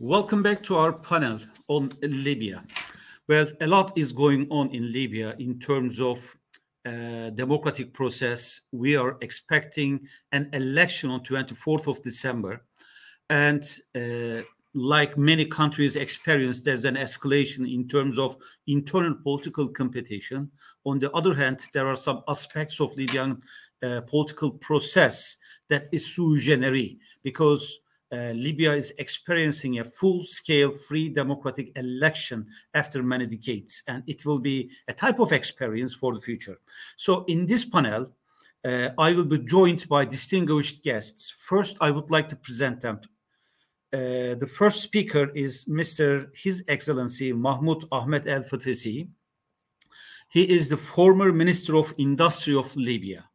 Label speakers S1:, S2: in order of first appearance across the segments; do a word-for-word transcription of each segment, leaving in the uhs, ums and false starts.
S1: Welcome back to our panel on Libya. Well, a lot is going on in Libya in terms of uh, democratic process. We are expecting an election on twenty-fourth of December. And uh, like many countries experience, there's an escalation in terms of internal political competition. On the other hand, there are some aspects of Libyan uh, political process that is sui generis, because uh, Libya is experiencing a full-scale free democratic election after many decades, and it will be a type of experience for the future. So in this panel, uh, I will be joined by distinguished guests. First, I would like to present them. Uh, the first speaker is Mister His Excellency Mahmoud Ahmed El Fatesi. He is the former Minister of Industry of Libya.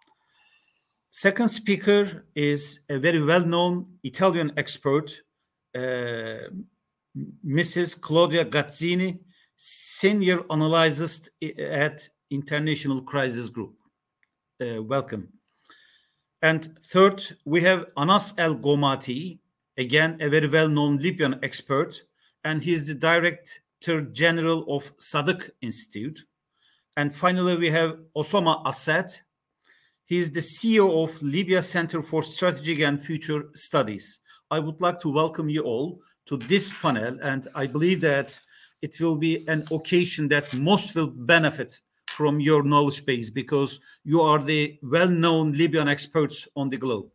S1: Second speaker is a very well-known Italian expert, uh, Missus Claudia Gazzini, senior analyst at International Crisis Group. Uh, welcome. And third, we have Anas El Gomati, again, a very well-known Libyan expert, and he is the Director General of Sadık Institute. And finally, we have Osama Assad. He is the C E O of Libya Center for Strategic and Future Studies. I would like to welcome you all to this panel, and I believe that it will be an occasion that most will benefit from your knowledge base, because you are the well-known Libyan experts on the globe.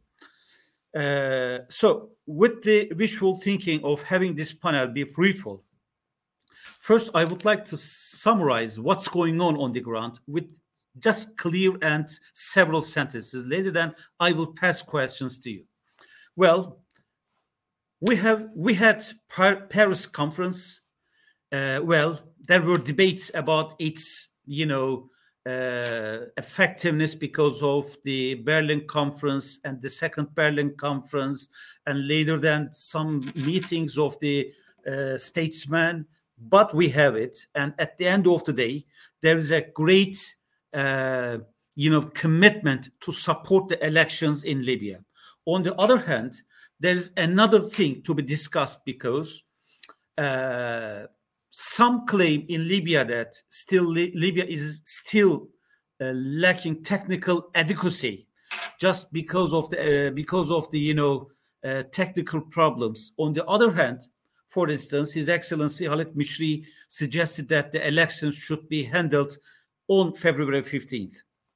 S1: Uh, so, with the wishful thinking of having this panel be fruitful, first I would like to summarize what's going on on the ground with just clear and several sentences. Later, then I will pass questions to you. Well, we have we had Paris conference. Uh, well, there were debates about its, you know, uh, effectiveness because of the Berlin conference and the second Berlin conference, and later then some meetings of the uh, statesmen. But we have it, and at the end of the day, there is a great Uh, you know, commitment to support the elections in Libya. On the other hand, there is another thing to be discussed, because uh, some claim in Libya that still Li- Libya is still uh, lacking technical adequacy, just because of the uh, because of the you know uh, technical problems. On the other hand, for instance, His Excellency Khalid Mishri suggested that the elections should be handled on February fifteenth.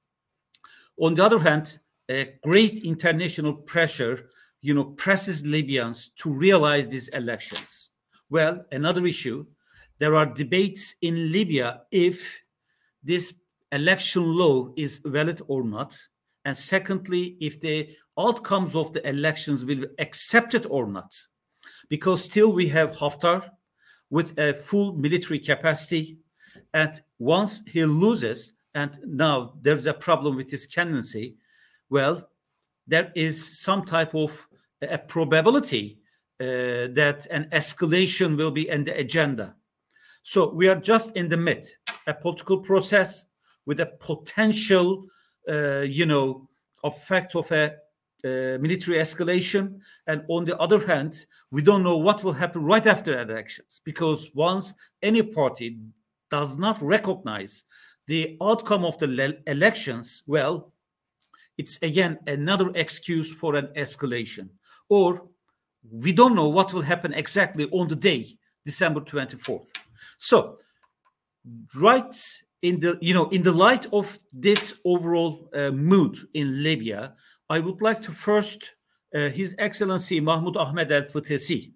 S1: On the other hand, a great international pressure, you know, presses Libyans to realize these elections. Well, another issue, there are debates in Libya if this election law is valid or not. And secondly, if the outcomes of the elections will be accepted or not. Because still we have Haftar with a full military capacity. And once he loses, and now there's a problem with his candidacy, well, there is some type of a probability uh, that an escalation will be in the agenda. So we are just in the mid, a political process with a potential, uh, you know, effect of a uh, military escalation. And on the other hand, we don't know what will happen right after elections, because once any party does not recognize the outcome of the le- elections, well, it's again another excuse for an escalation. Or we don't know what will happen exactly on the day, December twenty-fourth. So, right in the you know in the light of this overall uh, mood in Libya, I would like to first uh, His Excellency Mahmoud Ahmed El Fatesi.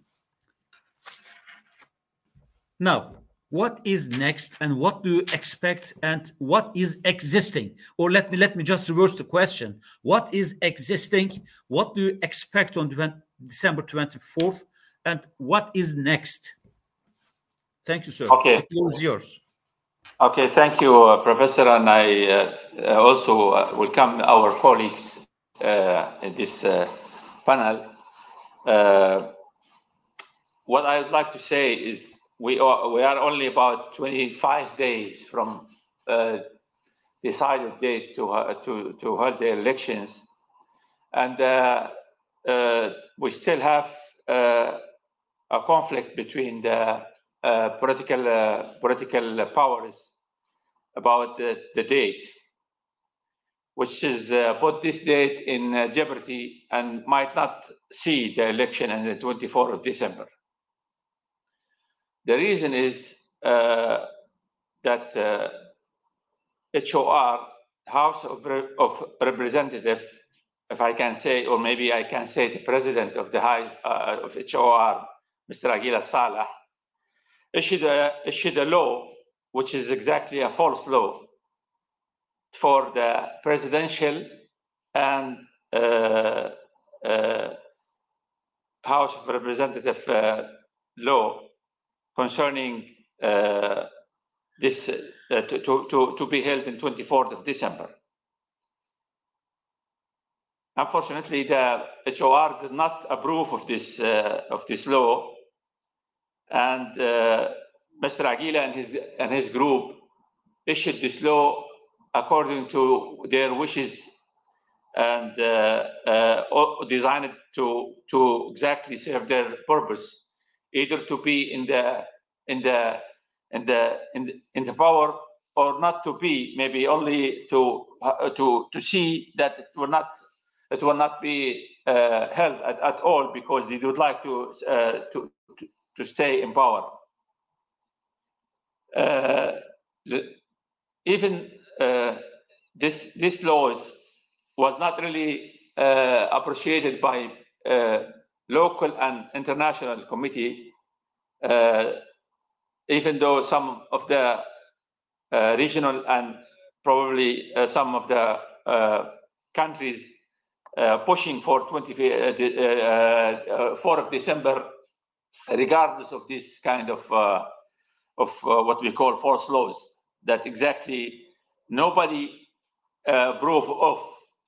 S1: Now, what is next, and what do you expect, and what is existing? Or let me let me just reverse the question. What is existing? What do you expect on December twenty-fourth? And what is next? Thank you, sir.
S2: Okay.
S1: The floor is yours.
S2: Okay, thank you, uh, Professor. And I uh, also uh, welcome our colleagues uh, in this uh, panel. Uh, what I would like to say is we are, we are only about twenty-five days from uh, decided date to, uh, to, to hold the elections. And uh, uh, we still have uh, a conflict between the uh, political uh, political powers about the, the date, which is uh, put this date in uh, jeopardy and might not see the election on the twenty-fourth of December. The reason is uh, that uh, H O R, House of, Re- of Representatives, if I can say, or maybe I can say the president of the high uh, of H O R, Mister Aguila Saleh, issued a, issued a law, which is exactly a false law, for the presidential and uh, uh, House of Representatives uh, law concerning uh, this uh, to, to, to be held in twenty-fourth of December. Unfortunately, the H O R did not approve of this uh, of this law, and uh, Mister Aguila and his and his group issued this law according to their wishes and uh, uh, designed to to exactly serve their purpose, either to be in the in the in the in the, in the power or not to be, maybe only to uh, to to see that it will not it will not be uh, held at, at all, because they would like to uh, to, to to stay in power. Uh, the, even uh, this this laws was not really uh, appreciated by uh, local and international committee, uh, even though some of the uh, regional and probably uh, some of the uh, countries uh, pushing for twenty-fourth of December, regardless of this kind of uh, of uh, what we call false laws, that exactly nobody uh, approve of.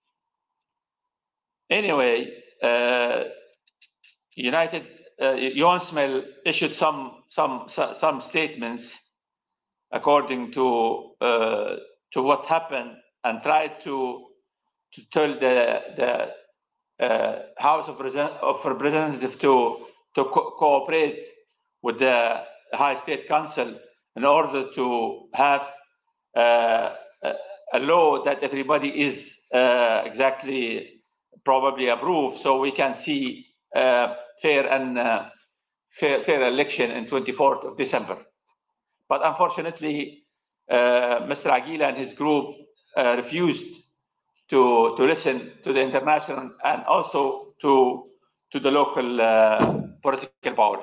S2: Anyway, uh, United uh, UNSMEL issued some some some statements according to uh, to what happened, and tried to to tell the the uh, House of, of Representatives to to co cooperate with the High State Council in order to have uh, a, a law that everybody is uh, exactly probably approve, so we can see uh, fair and uh, fair, fair election in twenty-fourth of December. But unfortunately, uh, Mister Aguila and his group uh, refused to to listen to the international and also to to the local uh, political powers.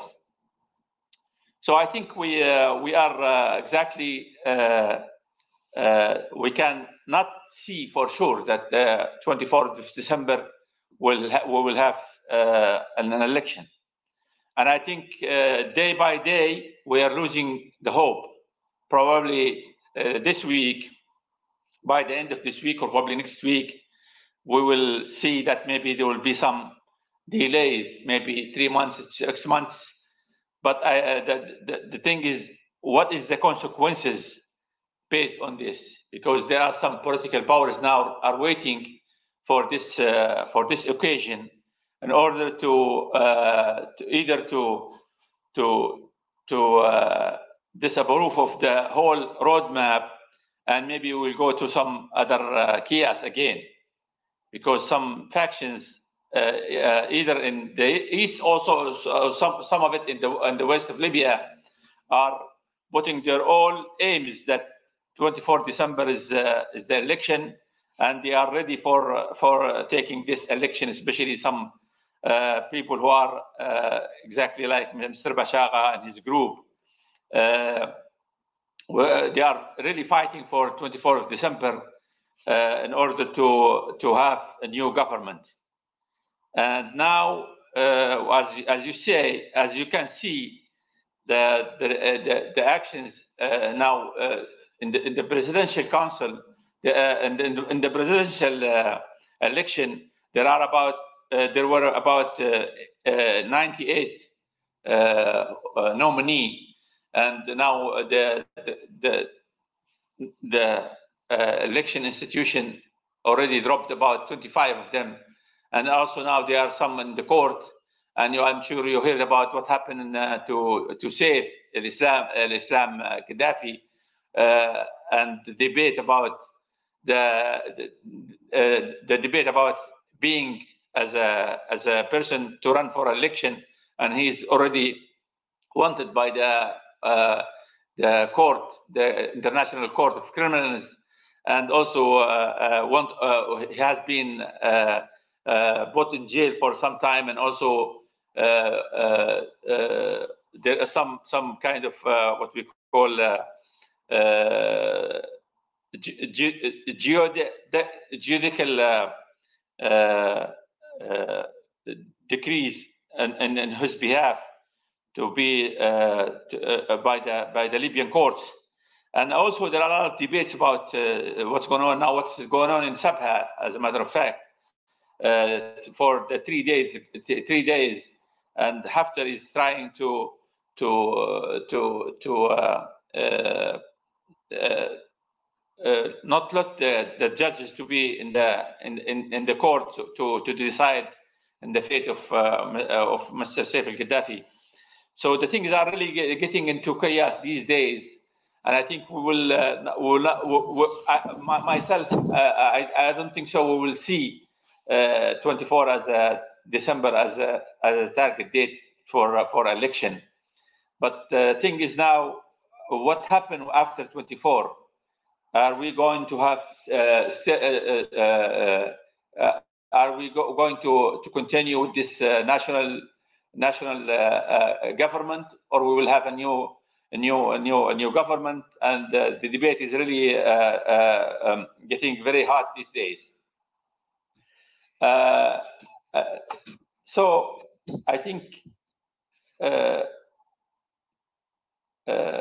S2: So I think we uh, we are uh, exactly uh, uh, we can not see for sure that the twenty-fourth of December will ha we will have uh, an, an election, and I think uh, day by day we are losing the hope. Probably uh, this week, by the end of this week or probably next week, we will see that maybe there will be some delays, maybe three months, six months. But I, uh, the, the, the thing is, what is the consequences based on this? Because there are some political powers now are waiting for this uh, for this occasion in order to, uh, to either to to to uh, disapprove of the whole roadmap, and maybe we'll go to some other uh, chaos again, because some factions, uh, uh, either in the east, also uh, some some of it in the in the west of Libya, are putting their all aims that twenty-fourth of December is uh, is the election, and they are ready for uh, for uh, taking this election, especially some uh, people who are uh, exactly like Mister Bashaga and his group. Uh, they are really fighting for twenty-fourth of December uh, in order to to have a new government. And now, uh, as as you say, as you can see, the the uh, the, the actions uh, now uh, in the in the presidential council, the, uh, in, the, in the presidential uh, election, there are about uh, there were about uh, uh, ninety-eight uh, uh, nominee. And now the the the, the uh, election institution already dropped about twenty-five of them, and also now there are some in the court, and you, I'm sure you heard about what happened uh, to to save Islam, Islam uh, Gaddafi, uh, and the debate about the the, uh, the debate about being as a as a person to run for election, and he's already wanted by the uh, the court, the International Court of Criminals, and also uh, uh, want, uh, he has been uh, uh, put in jail for some time, and also uh, uh, uh, there is some some kind of uh, what we call uh, uh, judicial uh, uh, uh, decrees in, in, in his behalf to be uh, to, uh, by the by the Libyan courts. And also there are a lot of debates about uh, what's going on now, what's going on in Sabha, as a matter of fact, uh, for the three days, three days, and Haftar is trying to to uh, to to uh, uh, uh, uh, not let the, the judges to be in the in in, in the court to to decide in the fate of uh, of Mister Saif al-Gaddafi. So the things are really getting into chaos these days, and I think we will. Uh, will not, we, we, I, my, myself, uh, I, I don't think so. We will see uh, twenty-four as a December as a as a target date for uh, for election. But the thing is now, what happened after twenty-four? Are we going to have? Uh, st- uh, uh, uh, are we go- going to to continue with this uh, national? national uh, uh, government, or we will have a new a new a new a new government, and uh, the debate is really uh, uh, um, getting very hot these days. Uh, uh, so I think uh, uh,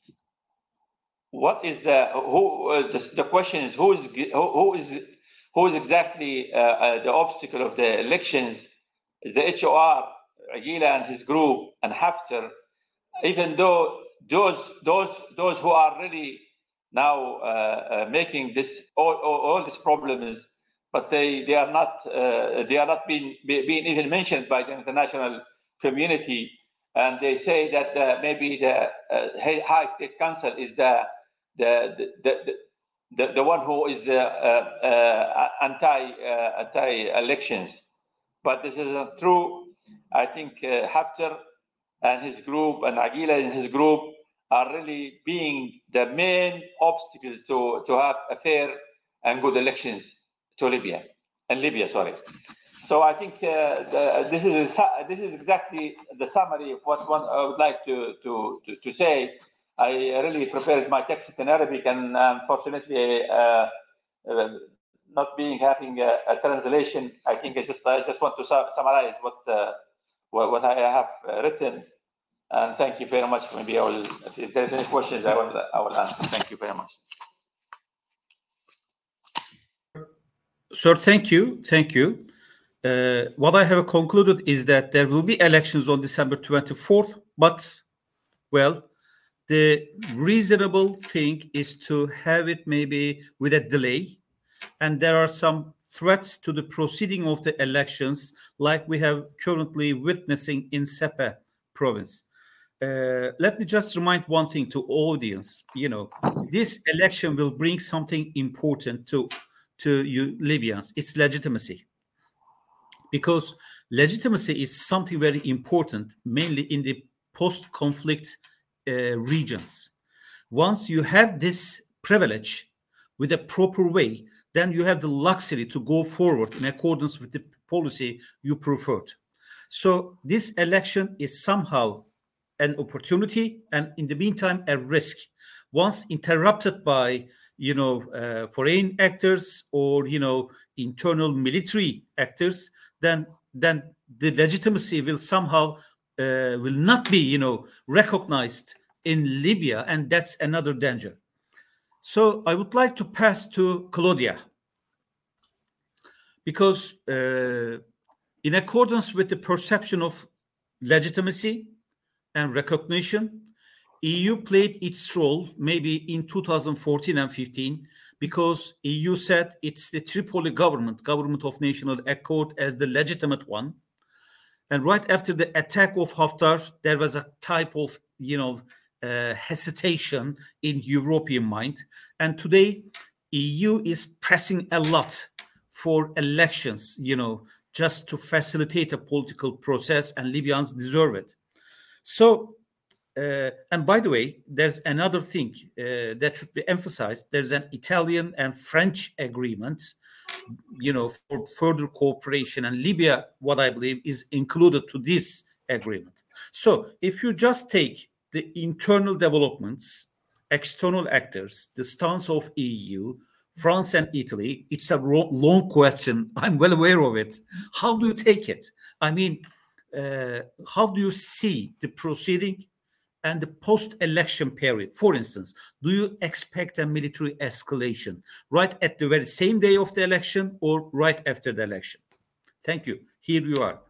S2: what is the who uh, the, the question is who is who, who is who is exactly uh, uh, the obstacle of the elections? Is the H O R, Aguila and his group, and Haftar, even though those those those who are really now uh, uh, making this all, all, all these problems, but they they are not uh, they are not being being even mentioned by the international community, and they say that uh, maybe the uh, High State Council is the the the, the, the, the one who is uh, uh, uh, anti uh, anti elections, but this is not true. I think uh, Haftar and his group and Aguila and his group are really being the main obstacles to, to have a fair and good elections to Libya and Libya, sorry. So I think uh, the, this is a, this is exactly the summary of what one I would like to to to, to say. I really prepared my text in Arabic, and unfortunately, uh, uh, not being having a, a translation, I think I just I just want to su- summarize what. Uh, What, what I have written, and thank you very much. Maybe I will, if there's any questions, I will, I will answer. Thank you very much.
S1: Sir, thank you, thank you. Uh, what I have concluded is that there will be elections on December twenty-fourth, but, well, the reasonable thing is to have it maybe with a delay, and there are some threats to the proceeding of the elections, like we have currently witnessing in Sepah province. Uh, let me just remind one thing to audience. You know, this election will bring something important to to you Libyans. It's legitimacy, because legitimacy is something very important, mainly in the post-conflict uh, regions. Once you have this privilege with a proper way, then you have the luxury to go forward in accordance with the policy you preferred. So this election is somehow an opportunity, and in the meantime, a risk. Once interrupted by, you know, uh, foreign actors or, you know, internal military actors, then then the legitimacy will somehow uh, will not be, you know, recognized in Libya, and that's another danger. So I would like to pass to Claudia, because uh, in accordance with the perception of legitimacy and recognition, E U played its role maybe in two thousand fourteen and fifteen, because E U said it's the Tripoli government, government of national accord, as the legitimate one. And right after the attack of Haftar, there was a type of, you know, uh, hesitation in European mind. And today, E U is pressing a lot for elections, you know, just to facilitate a political process, and Libyans deserve it. So, uh, and by the way, there's another thing uh, that should be emphasized. There's an Italian and French agreement, you know, for further cooperation, and Libya, what I believe, is included to this agreement. So if you just take the internal developments, external actors, the stance of E U, France and Italy, it's a long question. I'm well aware of it. How do you take it? I mean, uh, how do you see the proceeding and the post-election period? For instance, do you expect a military escalation right at the very same day of the election or right after the election? Thank you. Here you are.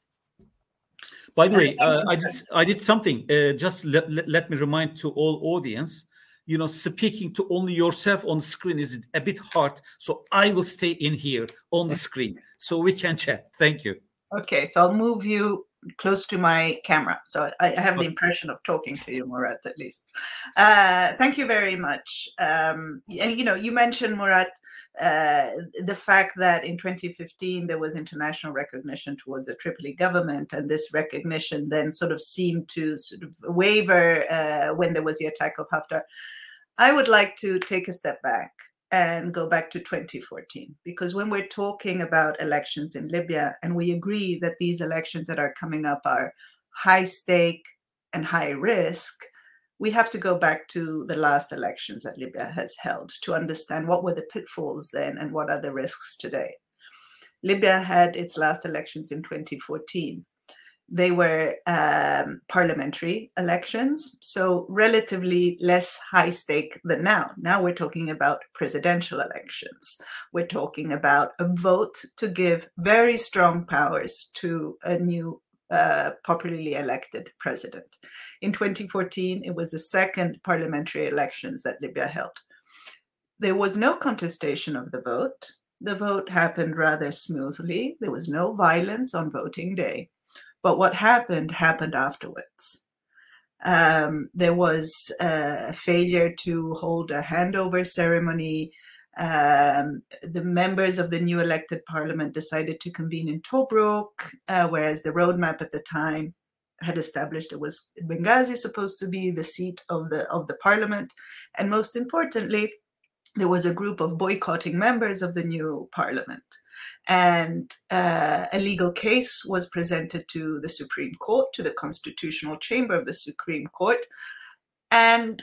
S1: By the way, uh, I, did, I did something. Uh, just let, let, let me remind to all audience, you know, speaking to only yourself on screen is a bit hard. So I will stay in here on the screen so we can chat. Thank you.
S3: Okay, so I'll move you close to my camera. So I, I have the impression of talking to you, Murat, at least. Uh, thank you very much. Um, and, you know, you mentioned, Murat, uh, the fact that in twenty fifteen, there was international recognition towards the Tripoli government. And this recognition then sort of seemed to sort of waver uh, when there was the attack of Haftar. I would like to take a step back and go back to twenty fourteen, because when we're talking about elections in Libya, and we agree that these elections that are coming up are high stake and high risk, we have to go back to the last elections that Libya has held to understand what were the pitfalls then and what are the risks today. Libya had its last elections in twenty fourteen. They were um, parliamentary elections, so relatively less high stake than now. Now we're talking about presidential elections. We're talking about a vote to give very strong powers to a new uh, popularly elected president. In twenty fourteen, it was the second parliamentary elections that Libya held. There was no contestation of the vote. The vote happened rather smoothly. There was no violence on voting day. But what happened, happened afterwards. Um, there was a failure to hold a handover ceremony. Um, the members of the new elected parliament decided to convene in Tobruk, uh, whereas the roadmap at the time had established it was Benghazi supposed to be the seat of the, of the parliament. And most importantly, there was a group of boycotting members of the new parliament. And uh, a legal case was presented to the Supreme Court, to the constitutional chamber of the Supreme Court. And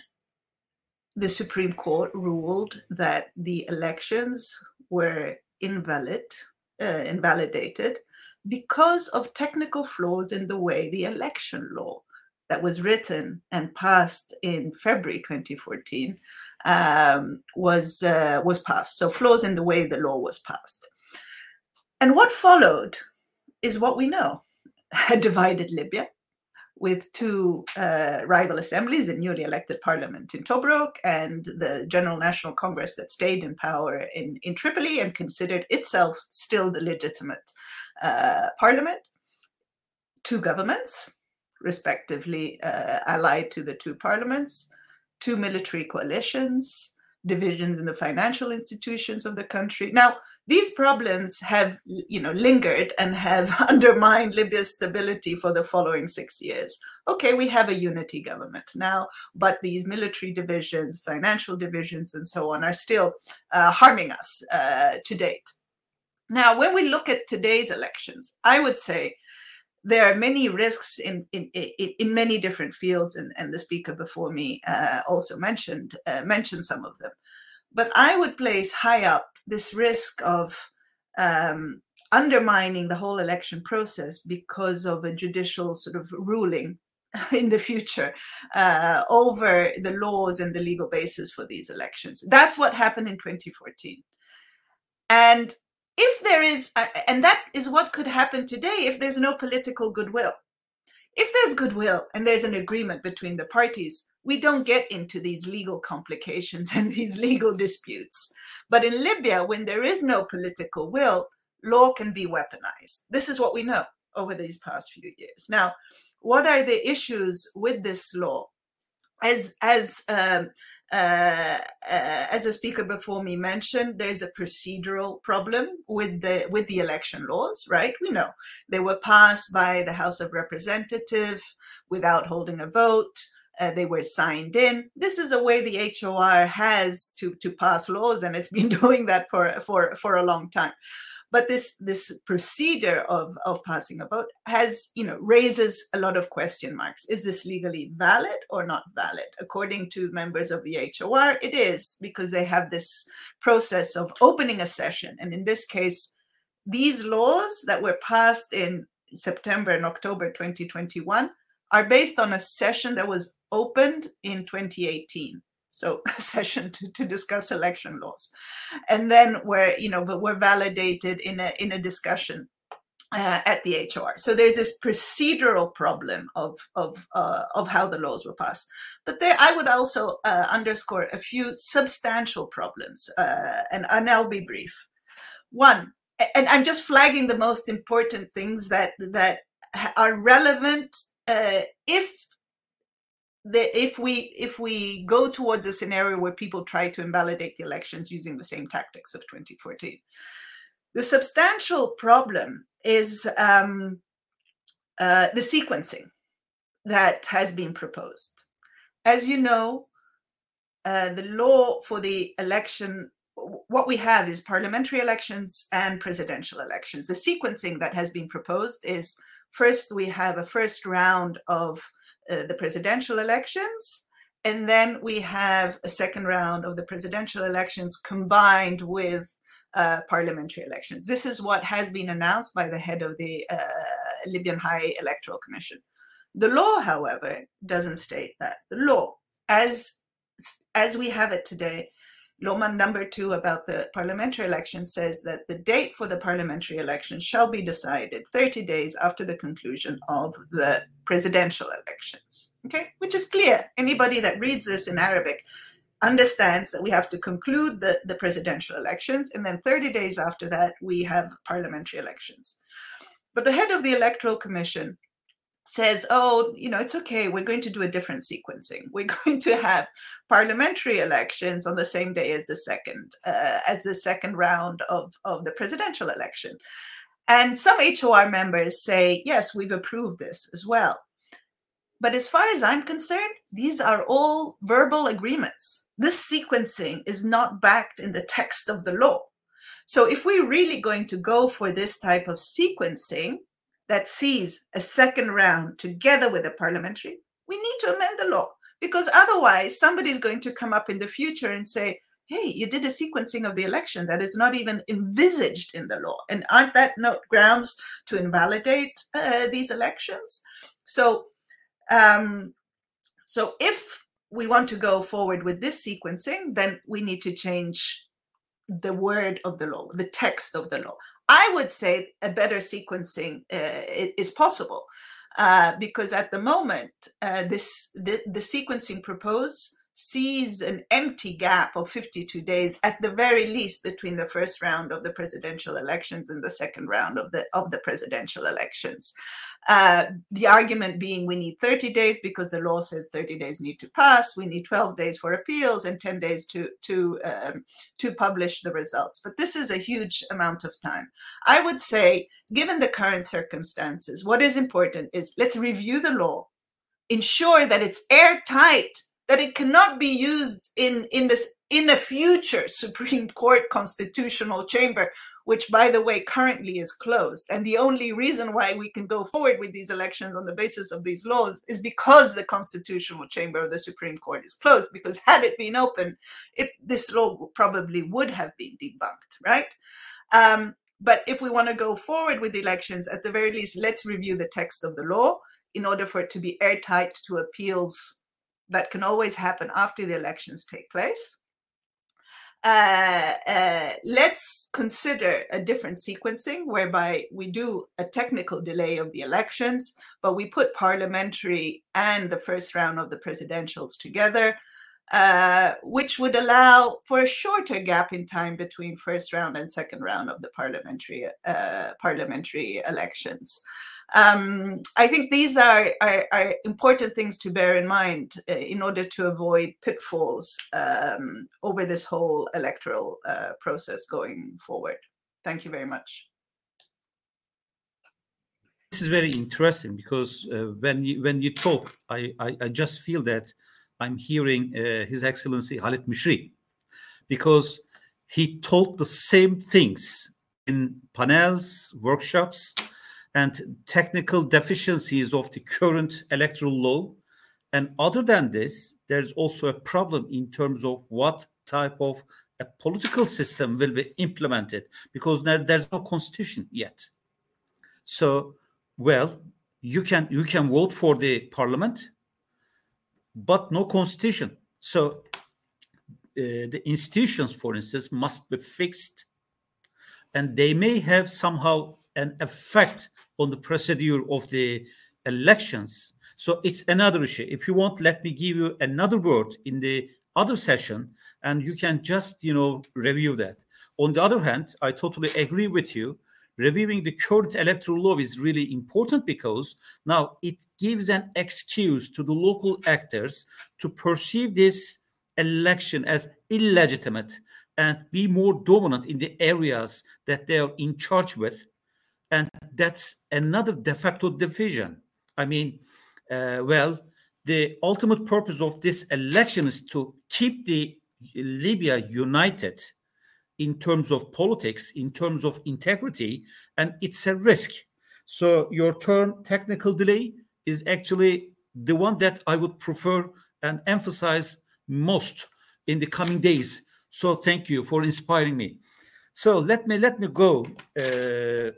S3: the Supreme Court ruled that the elections were invalid, uh, invalidated because of technical flaws in the way the election law that was written and passed in February twenty fourteen um, was, uh, was passed. So flaws in the way the law was passed. And what followed is what we know, a divided Libya with two uh, rival assemblies, a newly elected parliament in Tobruk and the General National Congress that stayed in power in, in Tripoli and considered itself still the legitimate uh, parliament. Two governments, respectively uh, allied to the two parliaments, two military coalitions, divisions in the financial institutions of the country. Now, these problems have, you know, lingered and have undermined Libya's stability for the following six years. Okay, we have a unity government now, but these military divisions, financial divisions, and so on are still uh, harming us uh, to date. Now, when we look at today's elections, I would say there are many risks in, in, in, in many different fields, and, and the speaker before me uh, also mentioned, uh, mentioned some of them. But I would place high up this risk of um, undermining the whole election process because of a judicial sort of ruling in the future uh, over the laws and the legal basis for these elections. That's what happened in twenty fourteen. And if there is, and that is what could happen today if there's no political goodwill. If there's goodwill and there's an agreement between the parties, we don't get into these legal complications and these legal disputes. But in Libya, when there is no political will, law can be weaponized. This is what we know. over these past few years. Now, what are the issues with this law? As as um, uh, uh, as a speaker before me mentioned, there's a procedural problem with the with the election laws, right? We know they were passed by the House of Representatives without holding a vote. Uh, they were signed in. This is a way the H O R has to to pass laws, and it's been doing that for for for a long time. But this this procedure of, of passing a vote has, you know, raises a lot of question marks. Is this legally valid or not valid? According to members of the H O R, it is, because they have this process of opening a session. And in this case, these laws that were passed in September and October twenty twenty-one are based on a session that was opened in twenty eighteen. So a session to, to discuss election laws, and then were, you know, but were validated in a in a discussion uh, at the H O R. So there's this procedural problem of of uh, of how the laws were passed. But there, I would also uh, underscore a few substantial problems, uh, and, and I'll be brief. One, and I'm just flagging the most important things that that are relevant uh, if. The, if we if we go towards a scenario where people try to invalidate the elections using the same tactics of twenty fourteen, the substantial problem is um, uh, the sequencing that has been proposed. As you know, uh, the law for the election, what we have is parliamentary elections and presidential elections. The sequencing that has been proposed is, first we have a first round of Uh, the presidential elections, and then we have a second round of the presidential elections combined with uh, parliamentary elections. This is what has been announced by the head of the uh, Libyan High Electoral Commission. The law, however, doesn't state that. The law, as, as we have it today, Law number two about the parliamentary election says that the date for the parliamentary election shall be decided thirty days after the conclusion of the presidential elections. Okay, which is clear. Anybody that reads this in Arabic understands that we have to conclude the, the presidential elections, and then thirty days after that, we have parliamentary elections. But the head of the Electoral Commission says, oh, you know, it's okay, we're going to do a different sequencing. We're going to have parliamentary elections on the same day as the second, uh, as the second round of, of the presidential election. And some H O R members say, yes, we've approved this as well. But as far as I'm concerned, these are all verbal agreements. This sequencing is not backed in the text of the law. So if we're really going to go for this type of sequencing that sees a second round together with a parliamentary, we need to amend the law, because otherwise somebody's going to come up in the future and say, hey, you did a sequencing of the election that is not even envisaged in the law. And aren't that no grounds to invalidate uh, these elections? So, um, so if we want to go forward with this sequencing, then we need to change the word of the law, the text of the law. I would say a better sequencing uh, is possible uh, because at the moment, uh, this the, the sequencing proposed sees an empty gap of fifty-two days at the very least between the first round of the presidential elections and the second round of the of the presidential elections. Uh, the argument being we need thirty days because the law says thirty days need to pass. We need twelve days for appeals and ten days to to um, to publish the results. But this is a huge amount of time. I would say, given the current circumstances, what is important is let's review the law, ensure that it's airtight, that it cannot be used in in this in a future Supreme Court constitutional chamber, which, by the way, currently is closed. And the only reason why we can go forward with these elections on the basis of these laws is because the constitutional chamber of the Supreme Court is closed, because had it been open, it, this law probably would have been debunked, right? Um, but if we want to go forward with the elections, at the very least, let's review the text of the law in order for it to be airtight to appeals that can always happen after the elections take place. Uh, uh, let's consider a different sequencing whereby we do a technical delay of the elections, but we put parliamentary and the first round of the presidentials together. uh, which would allow for a shorter gap in time between first round and second round of the parliamentary uh, parliamentary elections. Um, I think these are, are, are important things to bear in mind uh, in order to avoid pitfalls um, over this whole electoral uh, process going forward. Thank you very much.
S1: This is very interesting because uh, when you when you talk, I, I, I just feel that I'm hearing uh, His Excellency Khalid Mishri, because he told the same things in panels, workshops, and technical deficiencies of the current electoral law. And other than this, there's also a problem in terms of what type of a political system will be implemented, because there, there's no constitution yet. So, well, you can you can vote for the parliament, but no constitution. So uh, the institutions, for instance, must be fixed, and they may have somehow an effect on the procedure of the elections. So it's another issue. If you want, let me give you another word in the other session, and you can just, you know, review that. On the other hand, I totally agree with you. Reviewing the current electoral law is really important because now it gives an excuse to the local actors to perceive this election as illegitimate and be more dominant in the areas that they are in charge with. And that's another de facto division. I mean, uh, well, the ultimate purpose of this election is to keep the Libya united in terms of politics, in terms of integrity, and it's a risk. So your term technical delay is actually the one that I would prefer and emphasize most in the coming days. So thank you for inspiring me. So let me let me go uh,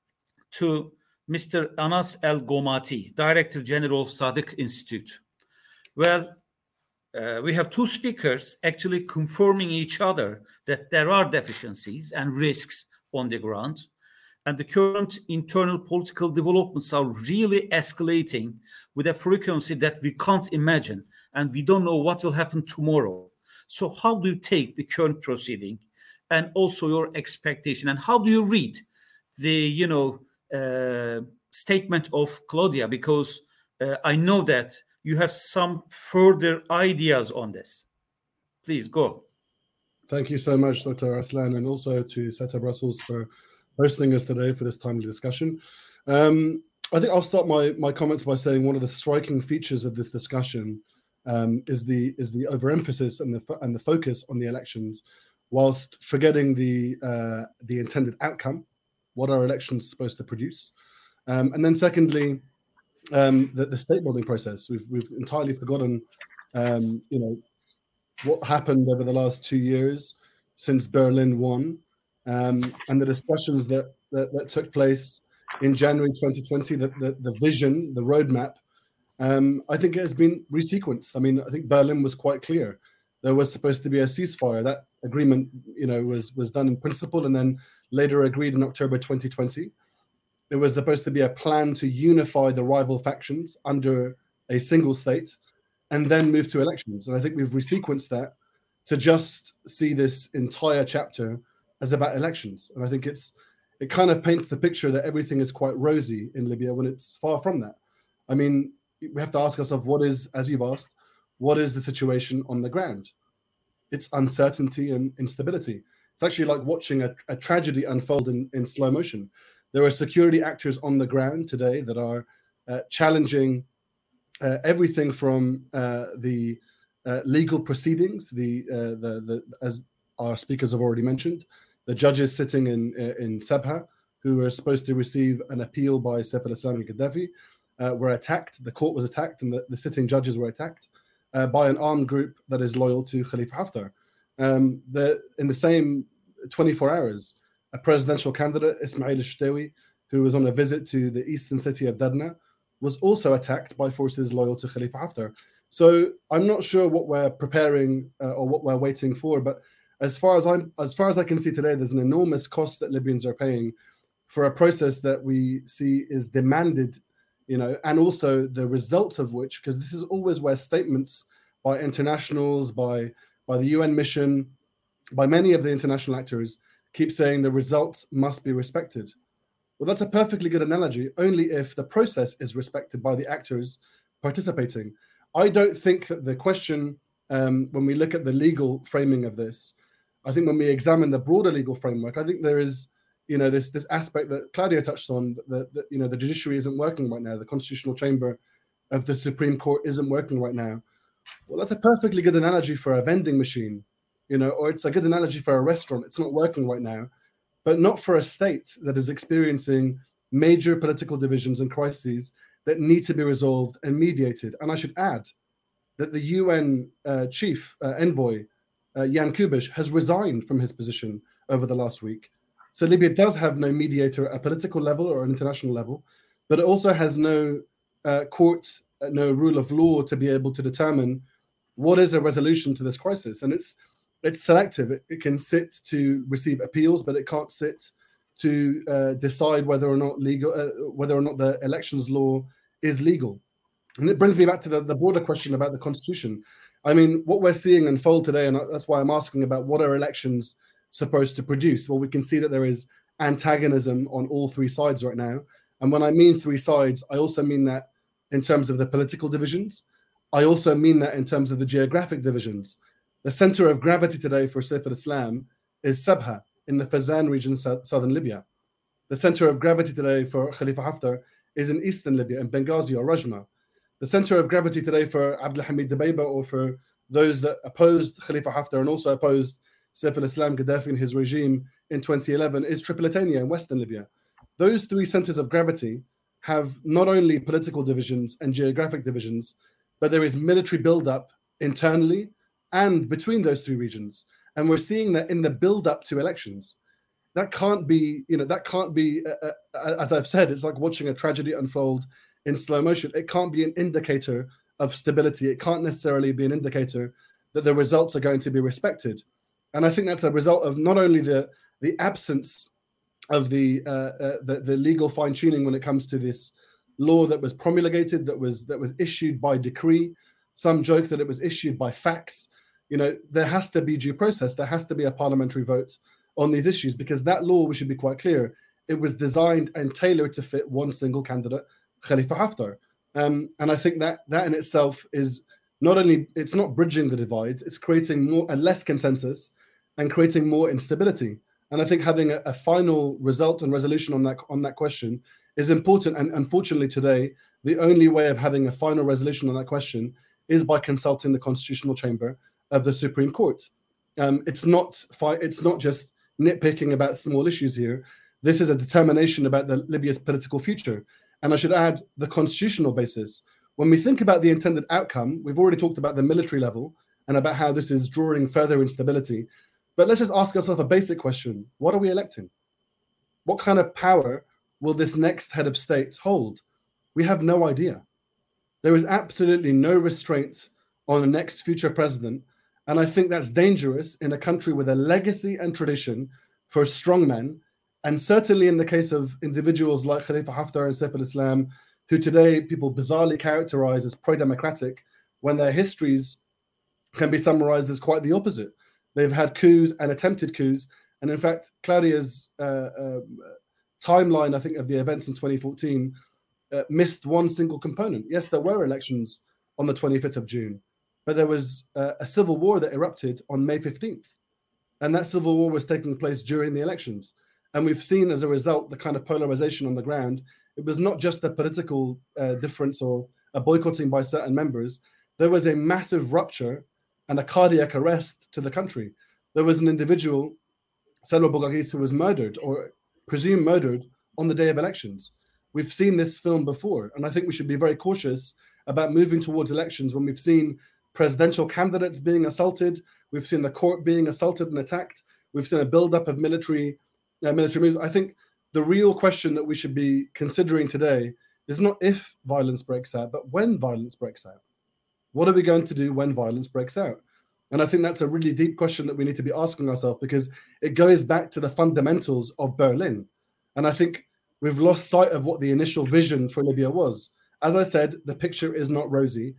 S1: to Mister Anas El Gomati, Director General of Sadiq Institute. Well, uh, we have two speakers actually confirming each other that there are deficiencies and risks on the ground. And the current internal political developments are really escalating with a frequency that we can't imagine. And we don't know what will happen tomorrow. So how do you take the current proceeding and also your expectation? And how do you read the, you know, uh, statement of Claudia? Because uh, I know that you have some further ideas on this. Please go.
S4: Thank you so much, Doctor Arslan, and also to SETA Brussels for hosting us today for this timely discussion. Um, I think I'll start my, my comments by saying one of the striking features of this discussion um, is the is the overemphasis and the and the focus on the elections, whilst forgetting the uh, the intended outcome, what are elections supposed to produce, um, and then secondly, um, the, the state building process. We've we've entirely forgotten, um, you know, what happened over the last two years since Berlin won, um, and the discussions that, that that took place in January twenty twenty. The the, the vision, the roadmap. Um, I think it has been resequenced. I mean, I think Berlin was quite clear. There was supposed to be a ceasefire. That agreement, you know, was was done in principle and then later agreed in October twenty twenty. There was supposed to be a plan to unify the rival factions under a single state and then move to elections. And I think we've resequenced that to just see this entire chapter as about elections. And I think it's it kind of paints the picture that everything is quite rosy in Libya when it's far from that. I mean, we have to ask ourselves, what is, as you've asked, what is the situation on the ground? It's uncertainty and instability. It's actually like watching a, a tragedy unfold in, in slow motion. There are security actors on the ground today that are uh, challenging uh, everything from uh, the uh, legal proceedings, the, uh, the the as our speakers have already mentioned, the judges sitting in in Sabha, who are supposed to receive an appeal by Saif al-Islam and Gaddafi, uh, were attacked. The court was attacked, and the, the sitting judges were attacked uh, by an armed group that is loyal to Khalifa Haftar. Um, the, in the same twenty-four hours, a presidential candidate, Ismail al-Shtawi, who was on a visit to the eastern city of Dadna, was also attacked by forces loyal to Khalifa Haftar. So I'm not sure what we're preparing uh, or what we're waiting for, but as far as I'm, as far as I can see today, there's an enormous cost that Libyans are paying for a process that we see is demanded, you know, and also the results of which, because this is always where statements by internationals, by, by the U N mission, by many of the international actors, keep saying the results must be respected. Well, that's a perfectly good analogy, only if the process is respected by the actors participating. I don't think that the question, um, when we look at the legal framing of this, I think when we examine the broader legal framework, I think there is, you know, this this aspect that Claudia touched on, that, that you know, the judiciary isn't working right now, the constitutional chamber of the Supreme Court isn't working right now. Well, that's a perfectly good analogy for a vending machine, you know, or it's a good analogy for a restaurant. It's not working right now, but not for a state that is experiencing major political divisions and crises that need to be resolved and mediated. And I should add that the U N uh, chief uh, envoy, uh, Jan Kubiš, has resigned from his position over the last week. So Libya does have no mediator at a political level or an international level, but it also has no uh, court, uh, no rule of law to be able to determine what is a resolution to this crisis. And it's it's selective. It, it can sit to receive appeals, but it can't sit to uh, decide whether or not legal, uh, whether or not the elections law is legal. And it brings me back to the, the broader question about the constitution. I mean, what we're seeing unfold today, and that's why I'm asking about what are elections supposed to produce? Well, we can see that there is antagonism on all three sides right now. And when I mean three sides, I also mean that in terms of the political divisions. I also mean that in terms of the geographic divisions. The center of gravity today for Saif al-Islam is Sabha in the Fezzan region, southern Libya. The center of gravity today for Khalifa Haftar is in eastern Libya, in Benghazi or Rajma. The center of gravity today for Abdelhamid Dbeiba, or for those that opposed Khalifa Haftar and also opposed Saif al-Islam Gaddafi and his regime in twenty eleven, is Tripolitania in western Libya. Those three centers of gravity have not only political divisions and geographic divisions, but there is military buildup internally and between those three regions. And we're seeing that in the build-up to elections. That can't be, you know, that can't be, uh, uh, as I've said, it's like watching a tragedy unfold in slow motion. It can't be an indicator of stability. It can't necessarily be an indicator that the results are going to be respected. And I think that's a result of not only the, the absence of the, uh, uh, the the legal fine-tuning when it comes to this law that was promulgated, that was that was issued by decree. Some joke that it was issued by fax. You know, there has to be due process. There has to be a parliamentary vote on these issues, because that law, we should be quite clear, it was designed and tailored to fit one single candidate, Khalifa Haftar. Um, and I think that that in itself is not only, it's not bridging the divides, it's creating more and less consensus and creating more instability. And I think having a, a final result and resolution on that on that question is important. And unfortunately today, the only way of having a final resolution on that question is by consulting the Constitutional Chamber of the Supreme Court. Um, it's not fi- it's not just nitpicking about small issues here. This is a determination about the Libya's political future. And I should add the constitutional basis. When we think about the intended outcome, we've already talked about the military level and about how this is drawing further instability. But let's just ask ourselves a basic question. What are we electing? What kind of power will this next head of state hold? We have no idea. There is absolutely no restraint on the next future president. And I think that's dangerous in a country with a legacy and tradition for strongmen. And certainly in the case of individuals like Khalifa Haftar and Saif al-Islam, who today people bizarrely characterize as pro-democratic, when their histories can be summarized as quite the opposite. They've had coups and attempted coups. And in fact, Claudia's uh, um, timeline, I think, of the events in twenty fourteen uh, missed one single component. Yes, there were elections on the twenty-fifth of June, but there was uh, a civil war that erupted on May fifteenth. And that civil war was taking place during the elections. And we've seen as a result the kind of polarization on the ground. It was not just a political uh, difference or a boycotting by certain members. There was a massive rupture and a cardiac arrest to the country. There was an individual, Salwa Boughagis, who was murdered or presumed murdered on the day of elections. We've seen this film before, and I think we should be very cautious about moving towards elections when we've seen presidential candidates being assaulted, we've seen the court being assaulted and attacked, we've seen a buildup of military uh, military moves. I think the real question that we should be considering today is not if violence breaks out, but when violence breaks out. What are we going to do when violence breaks out? And I think that's a really deep question that we need to be asking ourselves, because it goes back to the fundamentals of Berlin. And I think we've lost sight of what the initial vision for Libya was. As I said, the picture is not rosy.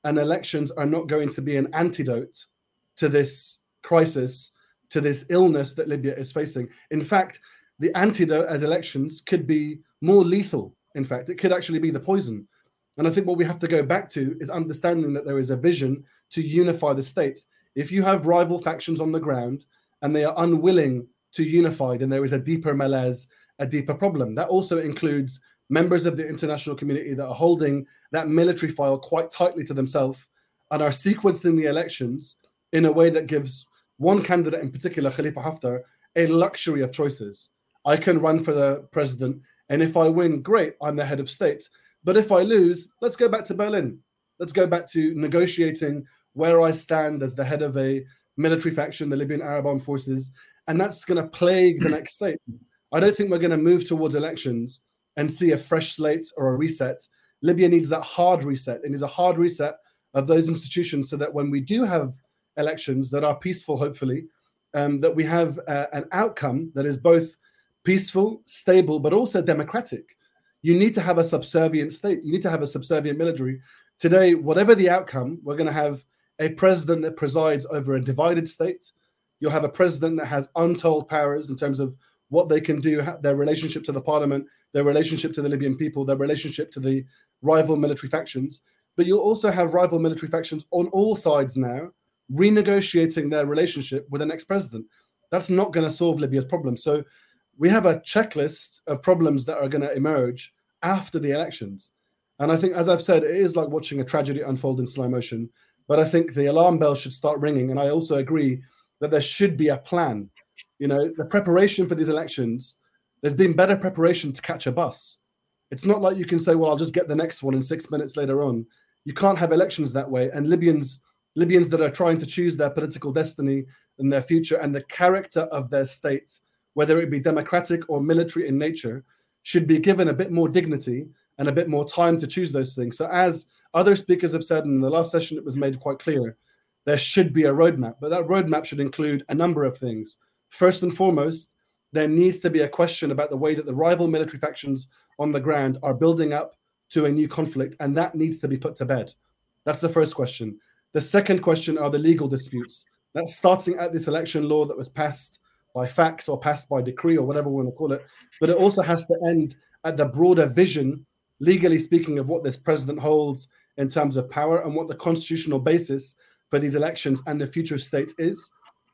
S4: and elections are not going to be an antidote to this crisis, to this illness that Libya is facing. In fact, the antidote as elections could be more lethal. In fact, it could actually be the poison. And I think what we have to go back to is understanding that there is a vision to unify the state. If you have rival factions on the ground and they are unwilling to unify, then there is a deeper malaise, a deeper problem. That also includes members of the international community that are holding that military file quite tightly to themselves and are sequencing the elections in a way that gives one candidate in particular, Khalifa Haftar, a luxury of choices. I can run for the president, and if I win, great, I'm the head of state. But if I lose, let's go back to Berlin. Let's go back to negotiating where I stand as the head of a military faction, the Libyan Arab Armed Forces, and that's going to plague the next state. I don't think we're going to move towards elections and see a fresh slate or a reset. Libya needs that hard reset. It needs a hard reset of those institutions so that when we do have elections that are peaceful, hopefully, um, that we have uh, an outcome that is both peaceful, stable, but also democratic. You need to have a subservient state. You need to have a subservient military. Today, whatever the outcome, we're going to have a president that presides over a divided state. You'll have a president that has untold powers in terms of what they can do, their relationship to the parliament, their relationship to the Libyan people, their relationship to the rival military factions. But you'll also have rival military factions on all sides now renegotiating their relationship with the next president. That's not going to solve Libya's problems. So we have a checklist of problems that are going to emerge after the elections. And I think, as I've said, it is like watching a tragedy unfold in slow motion. But I think the alarm bell should start ringing. And I also agree that there should be a plan. You know, the preparation for these elections, there's been better preparation to catch a bus. It's not like you can say, well, I'll just get the next one in six minutes later on. You can't have elections that way. And Libyans, Libyans that are trying to choose their political destiny and their future and the character of their state, whether it be democratic or military in nature, should be given a bit more dignity and a bit more time to choose those things. So as other speakers have said, and in the last session it was made quite clear, there should be a roadmap, but that roadmap should include a number of things. First and foremost, there needs to be a question about the way that the rival military factions on the ground are building up to a new conflict, and that needs to be put to bed. That's the first question. The second question are the legal disputes. That's starting at this election law that was passed by fax or passed by decree or whatever we want to call it, but it also has to end at the broader vision, legally speaking, of what this president holds in terms of power and what the constitutional basis for these elections and the future state is.